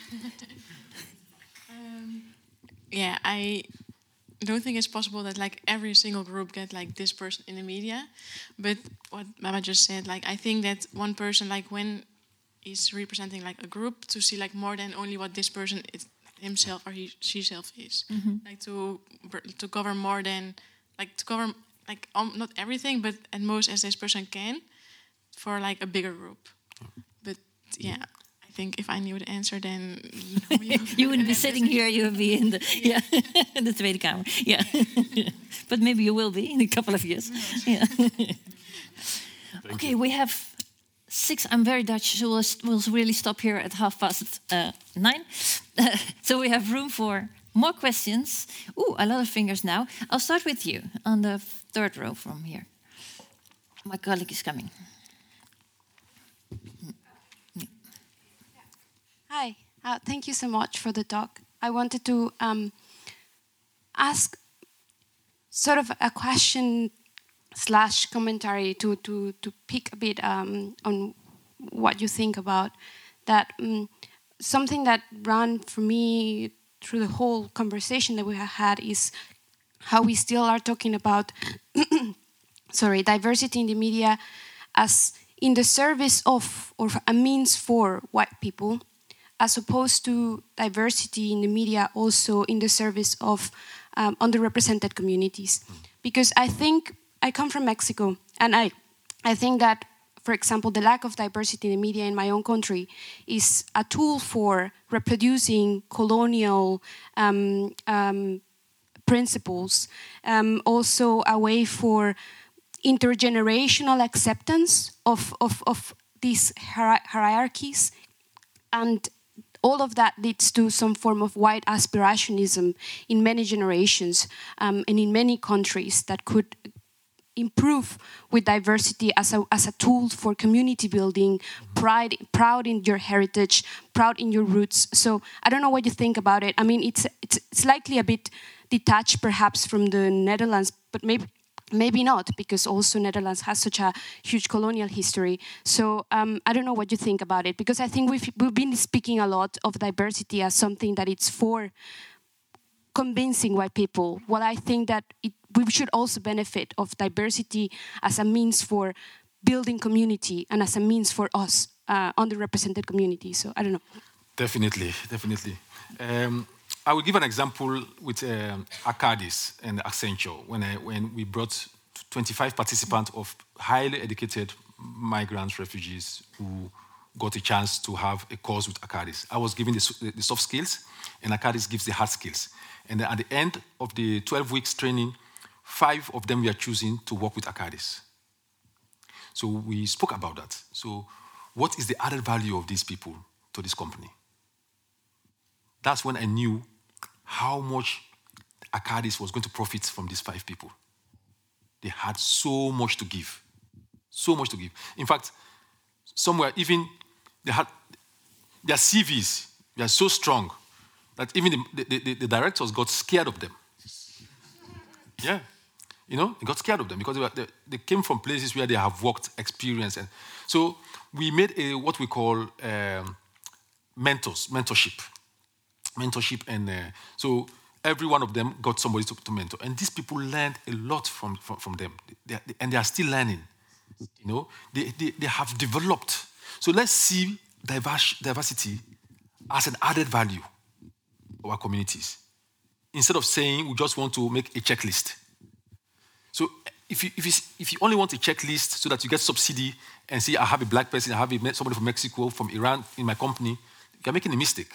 I don't think it's possible that every single group get this person in the media. But what Mama just said, I think that one person, when he's representing a group, to see more than only what this person is himself or she-self is. Mm-hmm. To cover more than to cover not everything, but at most as this person can for a bigger group. But yeah, I think if I knew the answer, then you wouldn't be sitting here. You would be in the in the Tweede Kamer. Yeah, but maybe you will be in a couple of years. Yeah. Okay, we have 6. I'm very Dutch, so we'll really stop here at 9:30. So we have room for more questions. Ooh, a lot of fingers now. I'll start with you on the 3rd row from here. My colleague is coming. Hi, thank you so much for the talk. I wanted to ask sort of a question / commentary to pick a bit on what you think about that. Something that ran for me through the whole conversation that we have had is how we still are talking about diversity in the media as in the service of or a means for white people, as opposed to diversity in the media also in the service of underrepresented communities. Because I think I come from Mexico, and I think that, for example, the lack of diversity in the media in my own country is a tool for reproducing colonial principles, also a way for intergenerational acceptance of these hierarchies, and all of that leads to some form of white aspirationism in many generations and in many countries that could improve with diversity as a tool for community building, proud in your heritage, proud in your roots. So I don't know what you think about it. I mean, it's likely a bit detached perhaps from the Netherlands, but maybe not, because also Netherlands has such a huge colonial history. So I don't know what you think about it, because I think we've been speaking a lot of diversity as something that it's for convincing white people. Well, I think that we should also benefit of diversity as a means for building community and as a means for us, underrepresented communities. So I don't know. Definitely, definitely. I will give an example with Arcadis and Accenture when we brought 25 participants of highly educated migrants, refugees who got a chance to have a course with Arcadis. I was giving the soft skills, and Arcadis gives the hard skills. And then at the end of the 12 weeks training, 5 of them were choosing to work with Arcadis. So we spoke about that. So what is the added value of these people to this company? That's when I knew how much Arcadis was going to profit from these 5 people. They had so much to give. So much to give. In fact, somewhere even they had their CVs were so strong that even the directors got scared of them. Yeah. You know, they got scared of them because they came from places where they have worked, experience. And so we made what we call mentorship. And so every one of them got somebody to mentor. And these people learned a lot from them. And they are still learning. You know, they have developed. So let's see diversity as an added value of our communities. Instead of saying we just want to make a checklist. So if you only want a checklist so that you get subsidy and say, I have a black person, I have somebody from Mexico, from Iran in my company, you're making a mistake.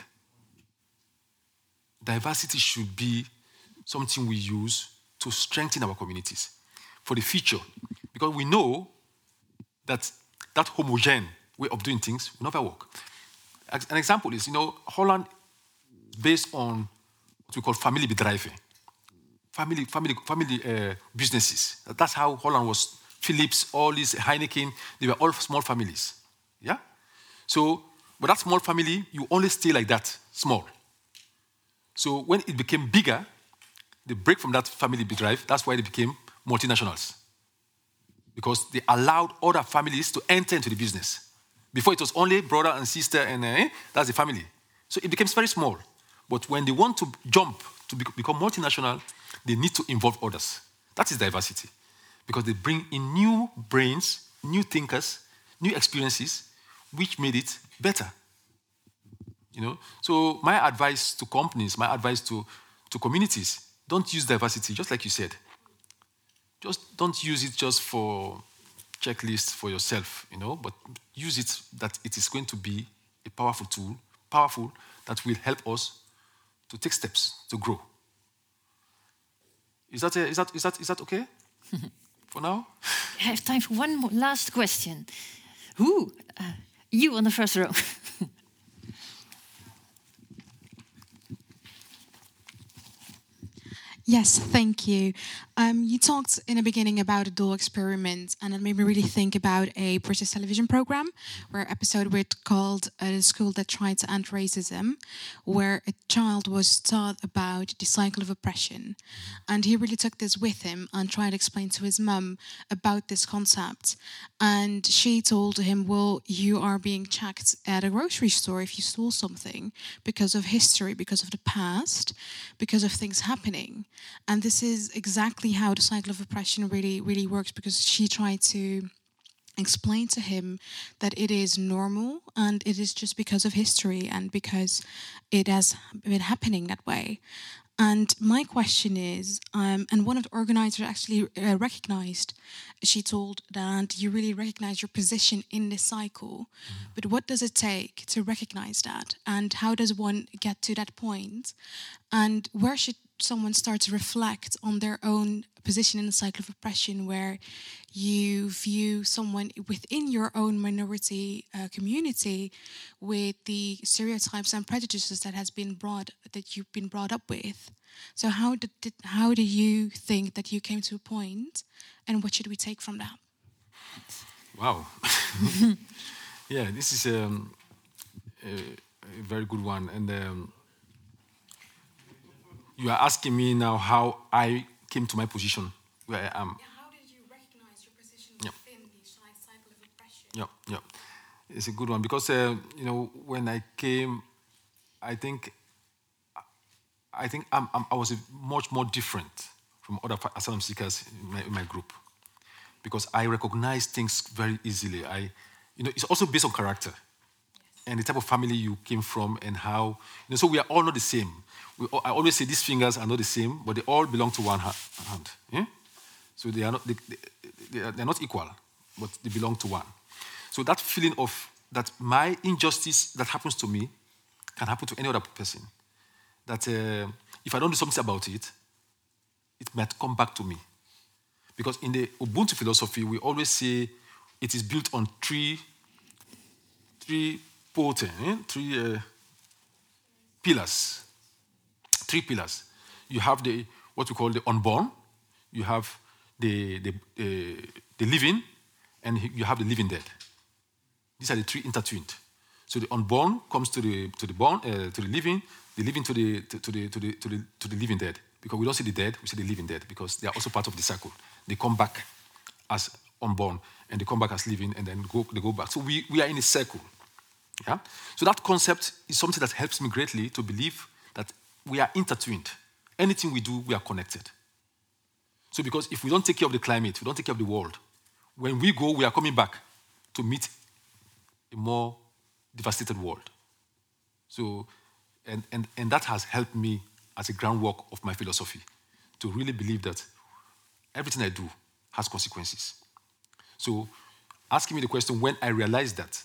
Diversity should be something we use to strengthen our communities for the future. Because we know that homogeneous way of doing things will never work. An example is, Holland, based on what we call familiebedrijven, family businesses. That's how Holland was. Philips, all these Heineken, they were all small families. Yeah? So, with that small family, you only stay like that, small. So when it became bigger, they break from that family bedrijf. That's why they became multinationals. Because they allowed other families to enter into the business. Before it was only brother and sister and that's the family. So it became very small. But when they want to jump to become multinational, they need to involve others. That is diversity. Because they bring in new brains, new thinkers, new experiences, which made it better. So my advice to companies, my advice to communities, don't use diversity, just like you said. Just don't use it just for checklists for yourself, but use it that it is going to be a powerful tool, that will help us to take steps to grow. Is that okay? For now? I have time for one more last question. Who? You on the first row. Yes, thank you. You talked in the beginning about a dual experiment, and it made me really think about a British television program, where an episode called "The School That Tried to End Racism," where a child was taught about the cycle of oppression, and he really took this with him and tried to explain to his mum about this concept. And she told him, "Well, you are being checked at a grocery store if you stole something because of history, because of the past, because of things happening." And this is exactly how the cycle of oppression really works, because she tried to explain to him that it is normal and it is just because of history and because it has been happening that way. And my question is, and one of the organizers actually recognized, she told that you really recognize your position in this cycle, but what does it take to recognize that? And how does one get to that point? And where should someone start to reflect on their own position in the cycle of oppression, where you view someone within your own minority community with the stereotypes and prejudices that you've been brought up with? So how do you think that you came to a point, and what should we take from that? Wow. Yeah, this is a very good one. And you are asking me now how I came to my position where I am. Yeah, how did you recognize your position within the cycle of oppression? Yeah. It's a good one because, when I came, I think I was much more different from other asylum seekers in my group. because I recognize things very easily. It's also based on character and the type of family you came from and how, so we are all not the same. I always say these fingers are not the same, but they all belong to one hand. Yeah? So they are not equal, but they belong to one. So that feeling of that my injustice that happens to me can happen to any other person. That if I don't do something about it, it might come back to me. Because in the Ubuntu philosophy, we always say it is built on three pillars. 3 pillars. You have what we call the unborn, you have the living, and you have the living dead. These are the 3 intertwined. So the unborn comes to the living to the living dead. Because we don't see the dead, we see the living dead, because they are also part of the cycle. They come back as unborn, and they come back as living, and then they go back. So we are in a circle. Yeah? So that concept is something that helps me greatly to believe that we are intertwined. Anything we do, we are connected. So because if we don't take care of the climate, we don't take care of the world, when we go, we are coming back to meet a more devastated world. So, and that has helped me as a groundwork of my philosophy to really believe that everything I do has consequences. So, asking me the question when I realized that,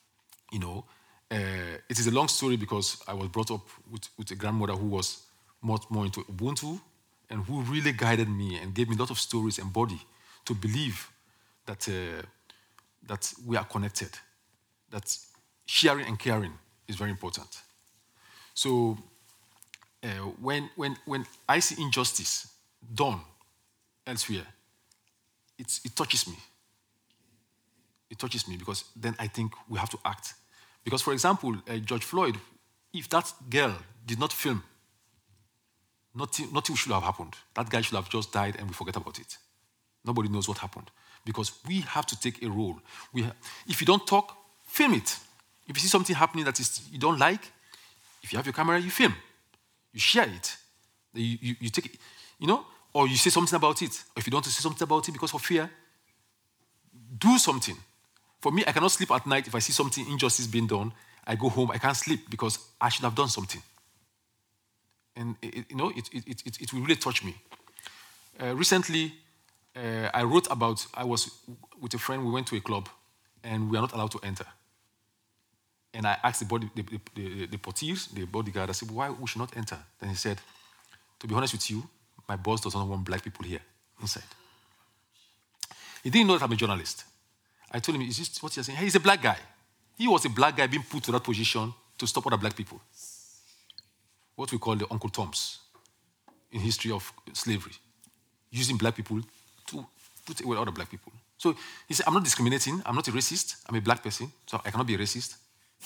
it is a long story because I was brought up with a grandmother who was much more into Ubuntu and who really guided me and gave me a lot of stories and body to believe that we are connected, that sharing and caring is very important. So when I see injustice done elsewhere, it touches me. It touches me because then I think we have to act. Because, for example, George Floyd, if that girl did not film, nothing should have happened. That guy should have just died and we forget about it. Nobody knows what happened. Because we have to take a role. If you don't talk, film it. If you see something happening that you don't like, if you have your camera, you film. You share it. You take it, or you say something about it. Or if you don't want to say something about it because of fear, do something. For me, I cannot sleep at night if I see something injustice being done. I go home, I can't sleep because I should have done something. And it will really touch me. Recently, I wrote about, I was with a friend, we went to a club, and we are not allowed to enter. And I asked the portiers, the bodyguard, I said, why we should not enter? Then he said, to be honest with you, my boss does not want black people here, inside. He didn't know that I'm a journalist. I told him, is this what you're saying? Hey, he's a black guy. He was a black guy being put to that position to stop other black people. What we call the Uncle Toms in history of slavery. Using black people to put away other black people. So he said, I'm not discriminating. I'm not a racist. I'm a black person, so I cannot be a racist.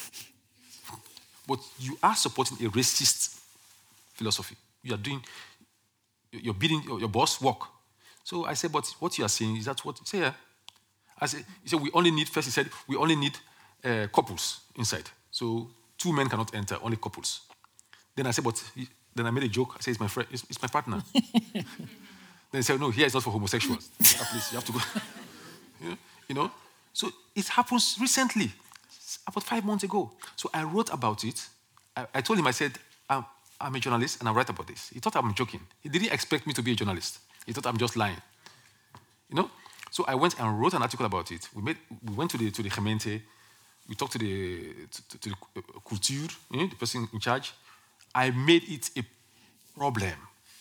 But you are supporting a racist philosophy. You're bidding your boss work. So I said, but what you are saying, is that what? He said, yeah. He said, we only need couples inside. So 2 men cannot enter, only couples. Then I said, then I made a joke. I said, it's my friend, it's my partner. Then he said, no, here it's not for homosexuals. Please, you have to go. So it happens recently, about 5 months ago. So I wrote about it. I told him, I said, I'm a journalist and I write about this. He thought I'm joking. He didn't expect me to be a journalist. He thought I'm just lying. So I went and wrote an article about it. We went to the Gemeente. We talked to the culture, the person in charge. I made it a problem.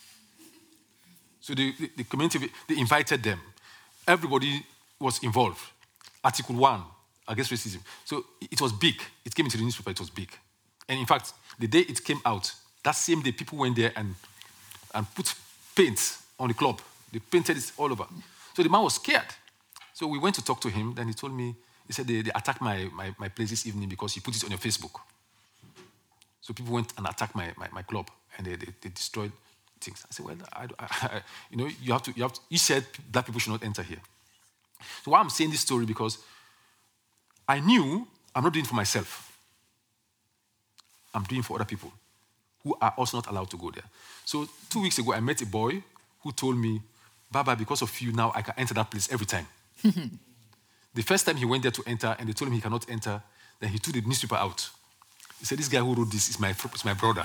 So the community, they invited them. Everybody was involved. Article 1 against racism. So it was big. It came into the newspaper, it was big. And in fact, the day it came out, that same day, people went there and put paint on the club. They painted it all over. So the man was scared. So we went to talk to him. Then he told me, he said they attacked my place this evening because you put it on your Facebook. So people went and attacked my club and they destroyed things. I said, well, you have to. You said black people should not enter here. So why I'm saying this story because I knew I'm not doing it for myself. I'm doing it for other people who are also not allowed to go there. So 2 weeks ago, I met a boy who told me, Baba, because of you now, I can enter that place every time. The first time he went there to enter, and they told him he cannot enter, then he took the newspaper out. He said, this guy who wrote this is my brother.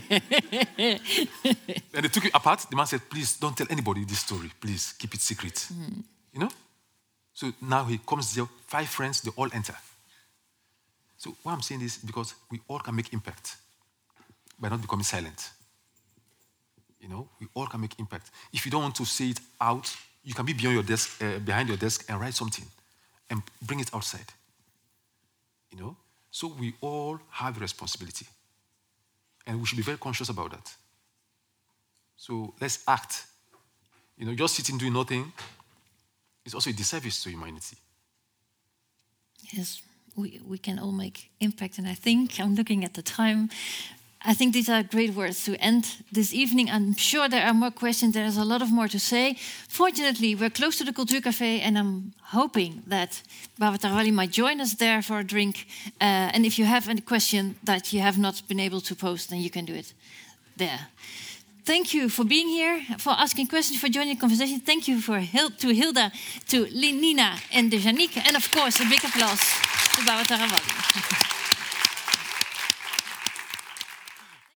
And they took it apart. The man said, please don't tell anybody this story. Please keep it secret. You know? So now he comes there, 5 friends, they all enter. So why I'm saying this is because we all can make impact by not becoming silent. You know, we all can make impact. If you don't want to say it out, you can be behind your desk and write something and bring it outside. You know? So we all have a responsibility. And we should be very conscious about that. So let's act. You know, just sitting doing nothing is also a disservice to humanity. Yes, we can all make impact. And I think, I'm looking at the time, I think these are great words to end this evening. I'm sure there are more questions. There's a lot of more to say. Fortunately, we're close to the Cultuurcafé, and I'm hoping that Baba Tarawali might join us there for a drink. And if you have any question that you have not been able to post, then you can do it there. Thank you for being here, for asking questions, for joining the conversation. Thank you to Hilda, to Nina, and Janiek. And of course, a big applause to Baba Tarawali.